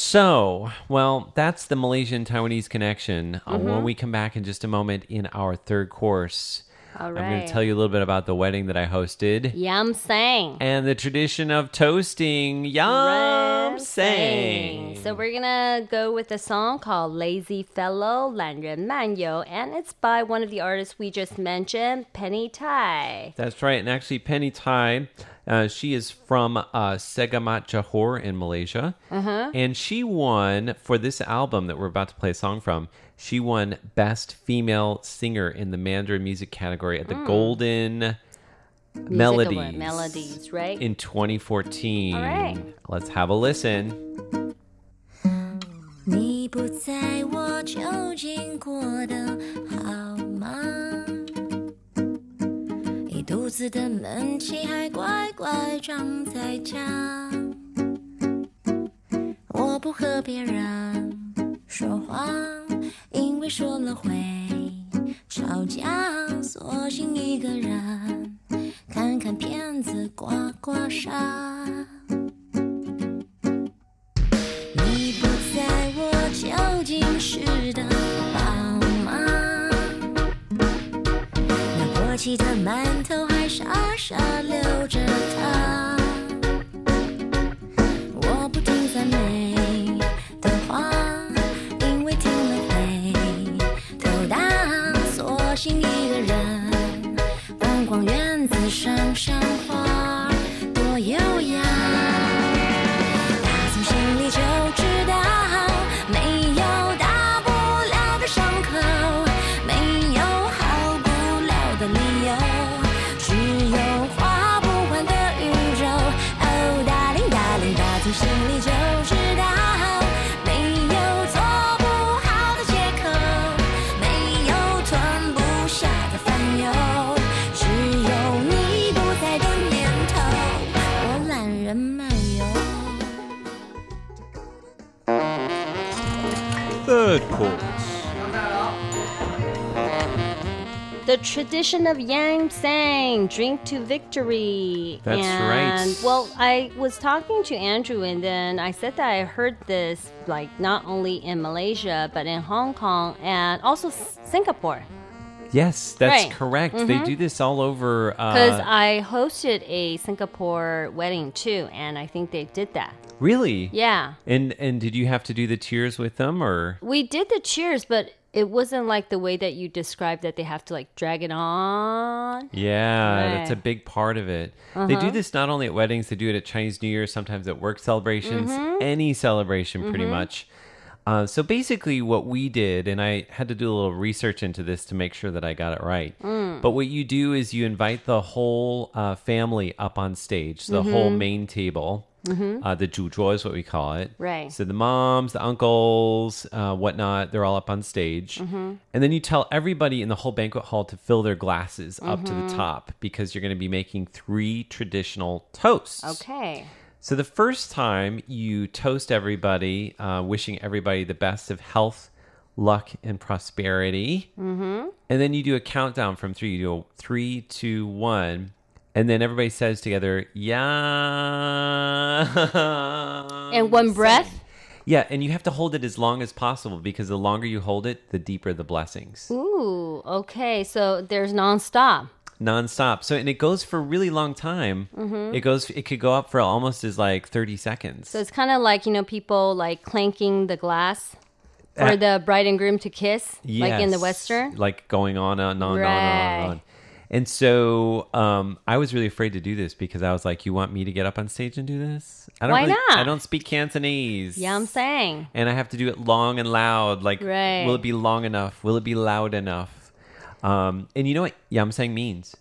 [SPEAKER 1] So, well, that's the Malaysian Taiwanese connection. Uh,
[SPEAKER 11] Mhm.
[SPEAKER 1] when we come back in just a moment in our third course,
[SPEAKER 11] All
[SPEAKER 1] I'm going to
[SPEAKER 11] right.
[SPEAKER 1] tell you a little bit about the wedding that I hosted.
[SPEAKER 11] Yam sang.
[SPEAKER 1] And the tradition of toasting. Yum sang.
[SPEAKER 11] So we're gonna go with a song called Lazy Fellow, 懒人漫游, and it's by one of the artists we just mentioned, Penny Tai.
[SPEAKER 1] That's right. And actually, Penny Tai, uh, she is from uh, Segamat Johor in Malaysia.
[SPEAKER 11] Uh-huh.
[SPEAKER 1] And she won, for this album that we're about to play a song from, she won Best Female Singer in the Mandarin Music category at the
[SPEAKER 11] Mm.
[SPEAKER 1] Golden
[SPEAKER 11] Music
[SPEAKER 1] Melodies.
[SPEAKER 11] Award, Melodies, right?
[SPEAKER 1] In twenty fourteen.
[SPEAKER 11] All right.
[SPEAKER 1] Let's have a listen.
[SPEAKER 12] 你不在我就经过的好吗？
[SPEAKER 14] 子的闷气还乖乖长在家。我不和别人说话，因为说了会吵架，索性一个人看看片子刮刮痧。你不在我究竟是的宝吗？那过期的馒头还傻傻留着它。我不听赞美的话，因为听了会头大，索性一个人逛逛院子赏赏花，多优雅。打从心里就知道，没有大不了的伤口，没有好不了的理由，只有花不完的宇宙。哦，darling darling，打从心里就知道，没有做不好的借口，没有吞不下的烦忧，只有你不在的念头，我懒人漫游。
[SPEAKER 8] Third chorus.
[SPEAKER 11] The tradition of Yang saying, drink to victory.
[SPEAKER 1] That's
[SPEAKER 11] and,
[SPEAKER 1] right.
[SPEAKER 11] Well, I was talking to Andrew and then I said that I heard this like not only in Malaysia, but in Hong Kong and also S- Singapore.
[SPEAKER 1] Yes, that's
[SPEAKER 11] Right.
[SPEAKER 1] correct.
[SPEAKER 11] Mhm.
[SPEAKER 1] They do this all over.
[SPEAKER 11] Because
[SPEAKER 1] Uh,
[SPEAKER 11] I hosted a Singapore wedding too, and I think they did that.
[SPEAKER 1] really?
[SPEAKER 11] Yeah.
[SPEAKER 1] And and did you have to do the cheers with them, or?
[SPEAKER 11] We did the cheers, but it wasn't like the way that you described that they have to like drag it on.
[SPEAKER 1] Yeah, that's a
[SPEAKER 11] Right.
[SPEAKER 1] big part of it. They do
[SPEAKER 11] Uh-huh.
[SPEAKER 1] this not only at weddings, they do it at Chinese New Year, sometimes at work celebrations,
[SPEAKER 11] Mhm.
[SPEAKER 1] any celebration pretty
[SPEAKER 11] Mhm.
[SPEAKER 1] much. Uh, so basically what we did, and I had to do a little research into this to make sure that I got it right.
[SPEAKER 11] Mm.
[SPEAKER 1] But what you do is you invite the whole uh, family up on stage, the whole
[SPEAKER 11] Mhm.
[SPEAKER 1] main table.
[SPEAKER 11] Mhm.
[SPEAKER 1] Uh, the 主桌 is what we call it.
[SPEAKER 11] Right.
[SPEAKER 1] So the moms, the uncles, uh, whatnot, they're all up on stage.
[SPEAKER 11] Mhm.
[SPEAKER 1] And then you tell everybody in the whole banquet hall to fill their glasses up to the
[SPEAKER 11] Mhm.
[SPEAKER 1] top because you're going to be making three traditional toasts.
[SPEAKER 11] Okay.
[SPEAKER 1] So the first time you toast everybody, uh, wishing everybody the best of health, luck, and prosperity.
[SPEAKER 11] Mm-hmm.
[SPEAKER 1] And then you do a countdown from three. You go three, two, one. And then everybody says together, yeah.
[SPEAKER 11] In one breath?
[SPEAKER 1] Yeah, and you have to hold it as long as possible because the longer you hold it, the deeper the blessings.
[SPEAKER 11] Ooh, okay. So there's nonstop.
[SPEAKER 1] Non-stop. So, and it goes for a really long time.
[SPEAKER 11] Mhm.
[SPEAKER 1] It goes, it could go up for almost as like thirty seconds.
[SPEAKER 11] So it's kind of like, you know, people like clanking the glass for
[SPEAKER 1] Uh,
[SPEAKER 11] the bride and groom to kiss, like in the
[SPEAKER 1] Yes.
[SPEAKER 11] Western.
[SPEAKER 1] Like going on and on and on and on
[SPEAKER 11] Right.
[SPEAKER 1] and on. And so um, I was really afraid to do this because I was like, you want me to get up on stage and do this? I don't
[SPEAKER 11] Why
[SPEAKER 1] really,
[SPEAKER 11] not?
[SPEAKER 1] I don't speak Cantonese.
[SPEAKER 11] Yeah, I'm saying.
[SPEAKER 1] And I have to do it long and loud. Like,
[SPEAKER 11] Right.
[SPEAKER 1] will it be long enough? Will it be loud enough? Um, and you know what Yamsang means?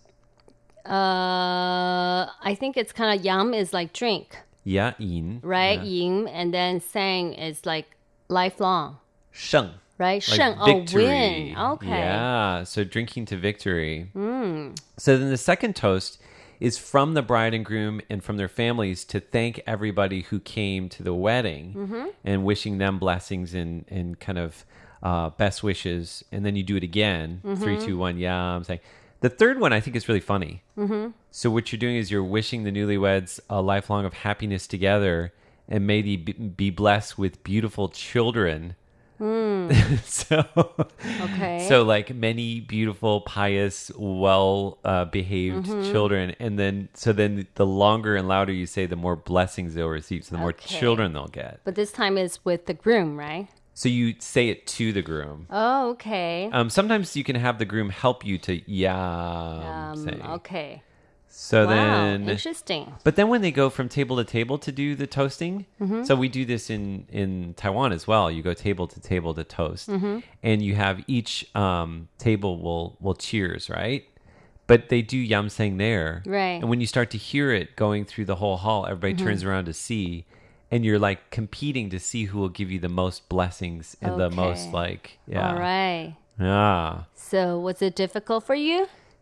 [SPEAKER 11] Uh, I think it's kind of yum is like drink,
[SPEAKER 1] Ya yin.
[SPEAKER 11] right?
[SPEAKER 1] Yeah.
[SPEAKER 11] Ying, and then sang is like lifelong,
[SPEAKER 1] Sheng.
[SPEAKER 11] right?
[SPEAKER 1] Like
[SPEAKER 11] Sheng, oh,
[SPEAKER 1] victory.
[SPEAKER 11] win. Okay.
[SPEAKER 1] Yeah. So drinking to victory.
[SPEAKER 11] Mm.
[SPEAKER 1] So then the second toast is from the bride and groom and from their families to thank everybody who came to the wedding
[SPEAKER 11] Mhm.
[SPEAKER 1] and wishing them blessings and, and kind of uh, best wishes. And then you do it again. Three,
[SPEAKER 11] Mhm.
[SPEAKER 1] two, one. Yeah, I'm saying. The third one I think is really funny.
[SPEAKER 11] Mhm.
[SPEAKER 1] So what you're doing is you're wishing the newlyweds a lifelong of happiness together and may they be, be blessed with beautiful children.
[SPEAKER 11] Mm.
[SPEAKER 1] so
[SPEAKER 11] Okay.
[SPEAKER 1] so like many beautiful, pious, well uh, behaved
[SPEAKER 11] Mhm.
[SPEAKER 1] children, and then so then the longer and louder you say, the more blessings they'll receive, so the more
[SPEAKER 11] Okay.
[SPEAKER 1] children they'll get.
[SPEAKER 11] But this time is with the groom, right?
[SPEAKER 1] So you say it to the groom.
[SPEAKER 11] Oh, okay.
[SPEAKER 1] Um, sometimes you can have the groom help you to yeah.
[SPEAKER 11] Um,
[SPEAKER 1] say.
[SPEAKER 11] okay.
[SPEAKER 1] So
[SPEAKER 11] Wow,
[SPEAKER 1] then
[SPEAKER 11] interesting.
[SPEAKER 1] But then when they go from table to table to do the toasting,
[SPEAKER 11] Mhm.
[SPEAKER 1] so we do this in in Taiwan as well. You go table to table to toast,
[SPEAKER 11] Mhm.
[SPEAKER 1] and you have each um, table will will cheers, right? But they do yamseng there,
[SPEAKER 11] Right.
[SPEAKER 1] And when you start to hear it going through the whole hall, everybody
[SPEAKER 11] Mhm.
[SPEAKER 1] turns around to see, and you're like competing to see who will give you the most blessings and the most
[SPEAKER 11] Okay.
[SPEAKER 1] like yeah,
[SPEAKER 11] All right.
[SPEAKER 1] yeah.
[SPEAKER 11] So was it difficult for you?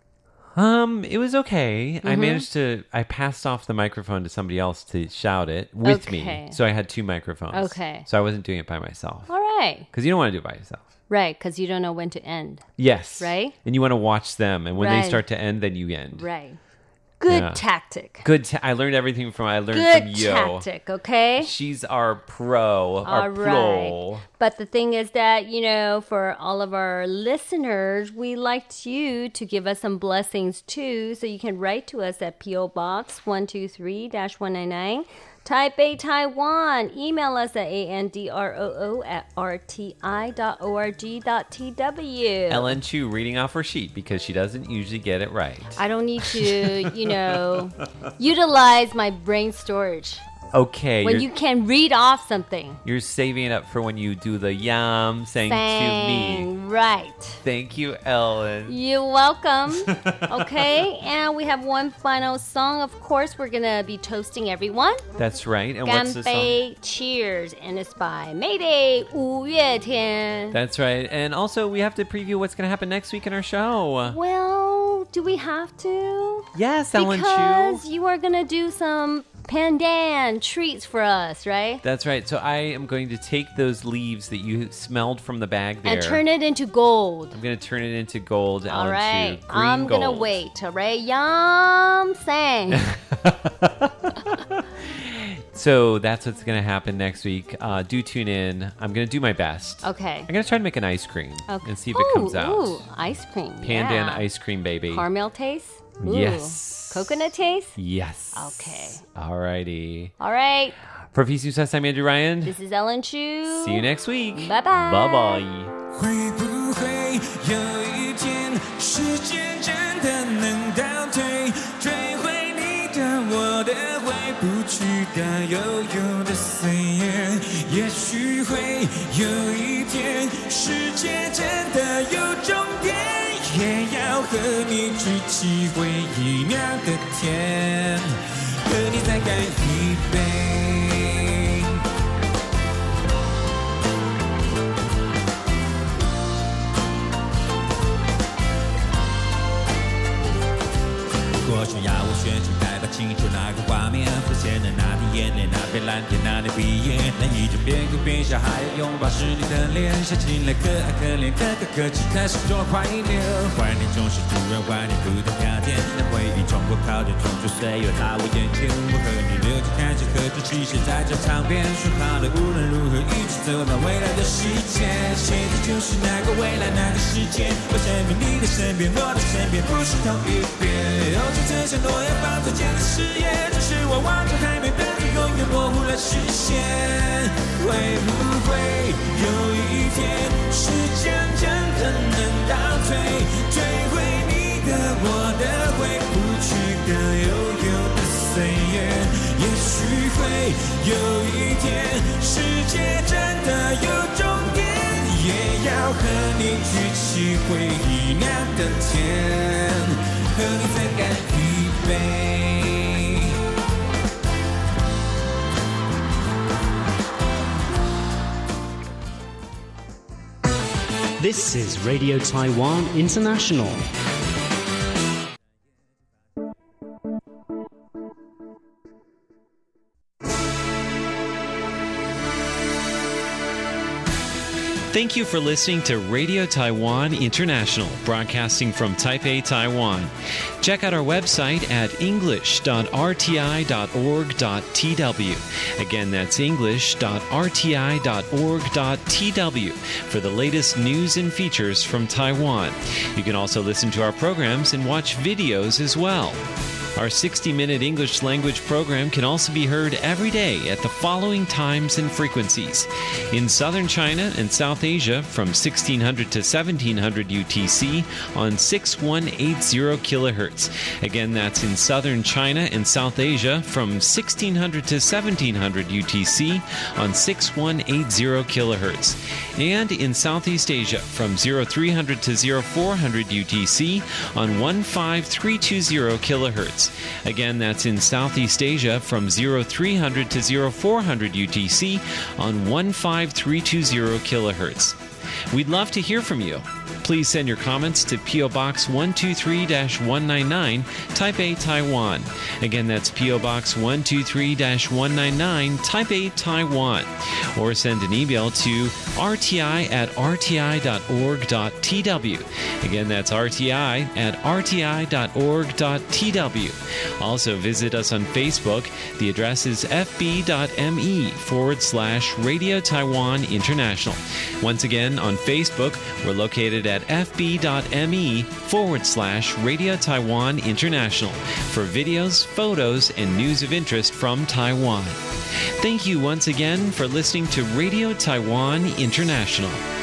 [SPEAKER 1] Um, it was okay.
[SPEAKER 11] Mm-hmm.
[SPEAKER 1] I managed to, I passed off the microphone to somebody else to shout it with
[SPEAKER 11] Okay.
[SPEAKER 1] me. So I had two microphones.
[SPEAKER 11] Okay.
[SPEAKER 1] So I wasn't doing it by myself.
[SPEAKER 11] All right.
[SPEAKER 1] Because you don't want to do it by yourself.
[SPEAKER 11] Right, because you don't know when to end.
[SPEAKER 1] Yes.
[SPEAKER 11] Right?
[SPEAKER 1] And you want to watch them. And when
[SPEAKER 11] Right.
[SPEAKER 1] they start to end, then you end.
[SPEAKER 11] Right. Good
[SPEAKER 1] Yeah.
[SPEAKER 11] tactic.
[SPEAKER 1] Good. Ta- I learned everything from, I learned
[SPEAKER 11] Good
[SPEAKER 1] from Yo.
[SPEAKER 11] tactic, okay?
[SPEAKER 1] She's our pro.
[SPEAKER 11] All
[SPEAKER 1] our
[SPEAKER 11] right.
[SPEAKER 1] pro.
[SPEAKER 11] But the thing is that, you know, for all of our listeners, we liked you to give us some blessings too. So you can write to us at P O Box one two three dash one nine nine, Taipei, Taiwan. Email us at androo at rti dot org dot tw.
[SPEAKER 1] Ellen Chu reading off her sheet because she doesn't usually get it right.
[SPEAKER 11] I don't need to, you know, utilize my brain storage.
[SPEAKER 1] Okay.
[SPEAKER 11] When
[SPEAKER 1] you're,
[SPEAKER 11] you can read off something.
[SPEAKER 1] you're saving it up for when you do the yum saying to me.
[SPEAKER 11] Sang right.
[SPEAKER 1] Thank you, Ellen.
[SPEAKER 11] You're welcome. Okay, and we have one final song. Of course, we're gonna be toasting everyone.
[SPEAKER 1] That's right. And what's the song?
[SPEAKER 11] 干杯 Cheers, and it's by Mayday 五月天.
[SPEAKER 1] That's right. And also, we have to preview what's going to happen next week in our show.
[SPEAKER 11] Well, do we have to?
[SPEAKER 1] Yes, Ellen Chu.
[SPEAKER 11] Because you are gonna do some pandan treats for us, right?
[SPEAKER 1] That's right. So I am going to take those leaves that you smelled from the bag there.
[SPEAKER 11] And turn it into gold.
[SPEAKER 1] I'm going to turn it into gold, Ellen
[SPEAKER 11] All right,
[SPEAKER 1] Chu. Green
[SPEAKER 11] I'm
[SPEAKER 1] gold.
[SPEAKER 11] gonna wait. All right, yum sang.
[SPEAKER 1] So that's what's going to happen next week. Uh, do tune in. I'm going to do my best.
[SPEAKER 11] Okay.
[SPEAKER 1] I'm going to try to make an ice cream
[SPEAKER 11] Okay.
[SPEAKER 1] and see if it comes
[SPEAKER 11] Ooh,
[SPEAKER 1] out.
[SPEAKER 11] Ooh, ice cream.
[SPEAKER 1] Pandan
[SPEAKER 11] yeah.
[SPEAKER 1] ice cream, baby.
[SPEAKER 11] Caramel taste? Ooh.
[SPEAKER 1] Yes.
[SPEAKER 11] Coconut taste?
[SPEAKER 1] Yes.
[SPEAKER 11] Okay.
[SPEAKER 1] Alrighty.
[SPEAKER 11] All right.
[SPEAKER 1] For Peace News, I'm Andrew Ryan.
[SPEAKER 11] This is Ellen Chu.
[SPEAKER 1] See you next week.
[SPEAKER 11] Bye bye.
[SPEAKER 1] Bye bye.
[SPEAKER 13] 会不会有一天，时间真的能倒退，追回你的、我的、回不去的、悠悠的岁月？也许会有一天，世界真的有终点，也要和你举起回忆酿的甜，和你再干一杯。过去要我选出代表清楚那个画面，浮现的那滴眼泪，那片蓝天，那年毕业，那一张边哭边笑还要拥抱是你的脸，想起来可爱可怜，可可可泣，开始多怀念，怀念总是突然怀念不同条件，那回忆冲破考验，冲出岁月在我眼前，我和你流着汗水，喝着汽水，在这场边，说好了无论如何一起走到未来的世界，现在就是那个未来那个世界，我身边你的身边，我的身边不是同一边。曾承诺要放再见的誓言，只是我望着海面的你，永远模糊了视线。会不会有一天，时间真的能倒退，追回你的、我的，回不去的、悠悠的岁月？也许会有一天，世界真的有终点，也要和你举起回忆酿的甜。和你再干一杯。
[SPEAKER 15] This is Radio Taiwan International.
[SPEAKER 6] Thank you for listening to Radio Taiwan International, broadcasting from Taipei, Taiwan. Check out our website at english dot r t i dot org dot t w. Again, that's english dot r t i dot org dot t w for the latest news and features from Taiwan. You can also listen to our programs and watch videos as well. Our sixty-minute English language program can also be heard every day at the following times and frequencies. In southern China and South Asia from sixteen hundred to seventeen hundred U T C on six one eight zero kilohertz. Again, that's in southern China and South Asia from sixteen hundred to seventeen hundred U T C on six one eight zero kilohertz. And in Southeast Asia from three hundred to four hundred U T C on one five three two zero kilohertz. Again, that's in Southeast Asia from three hundred to four hundred U T C on one five three two zero kilohertz. We'd love to hear from you. Please send your comments to P O Box one two three one nine nine, Taipei, Taiwan. Again, that's P O Box one two three one nine nine, Taipei, Taiwan. Or send an email to r t i at r t i dot org dot t w. Again, that's r t i at r t i dot org dot t w. Also, visit us on Facebook. The address is fb.me forward slash Radio Taiwan International. Once again, on Facebook, we're located at fb.me forward slash Radio Taiwan International for videos, photos, and news of interest from Taiwan. Thank you once again for listening to Radio Taiwan International.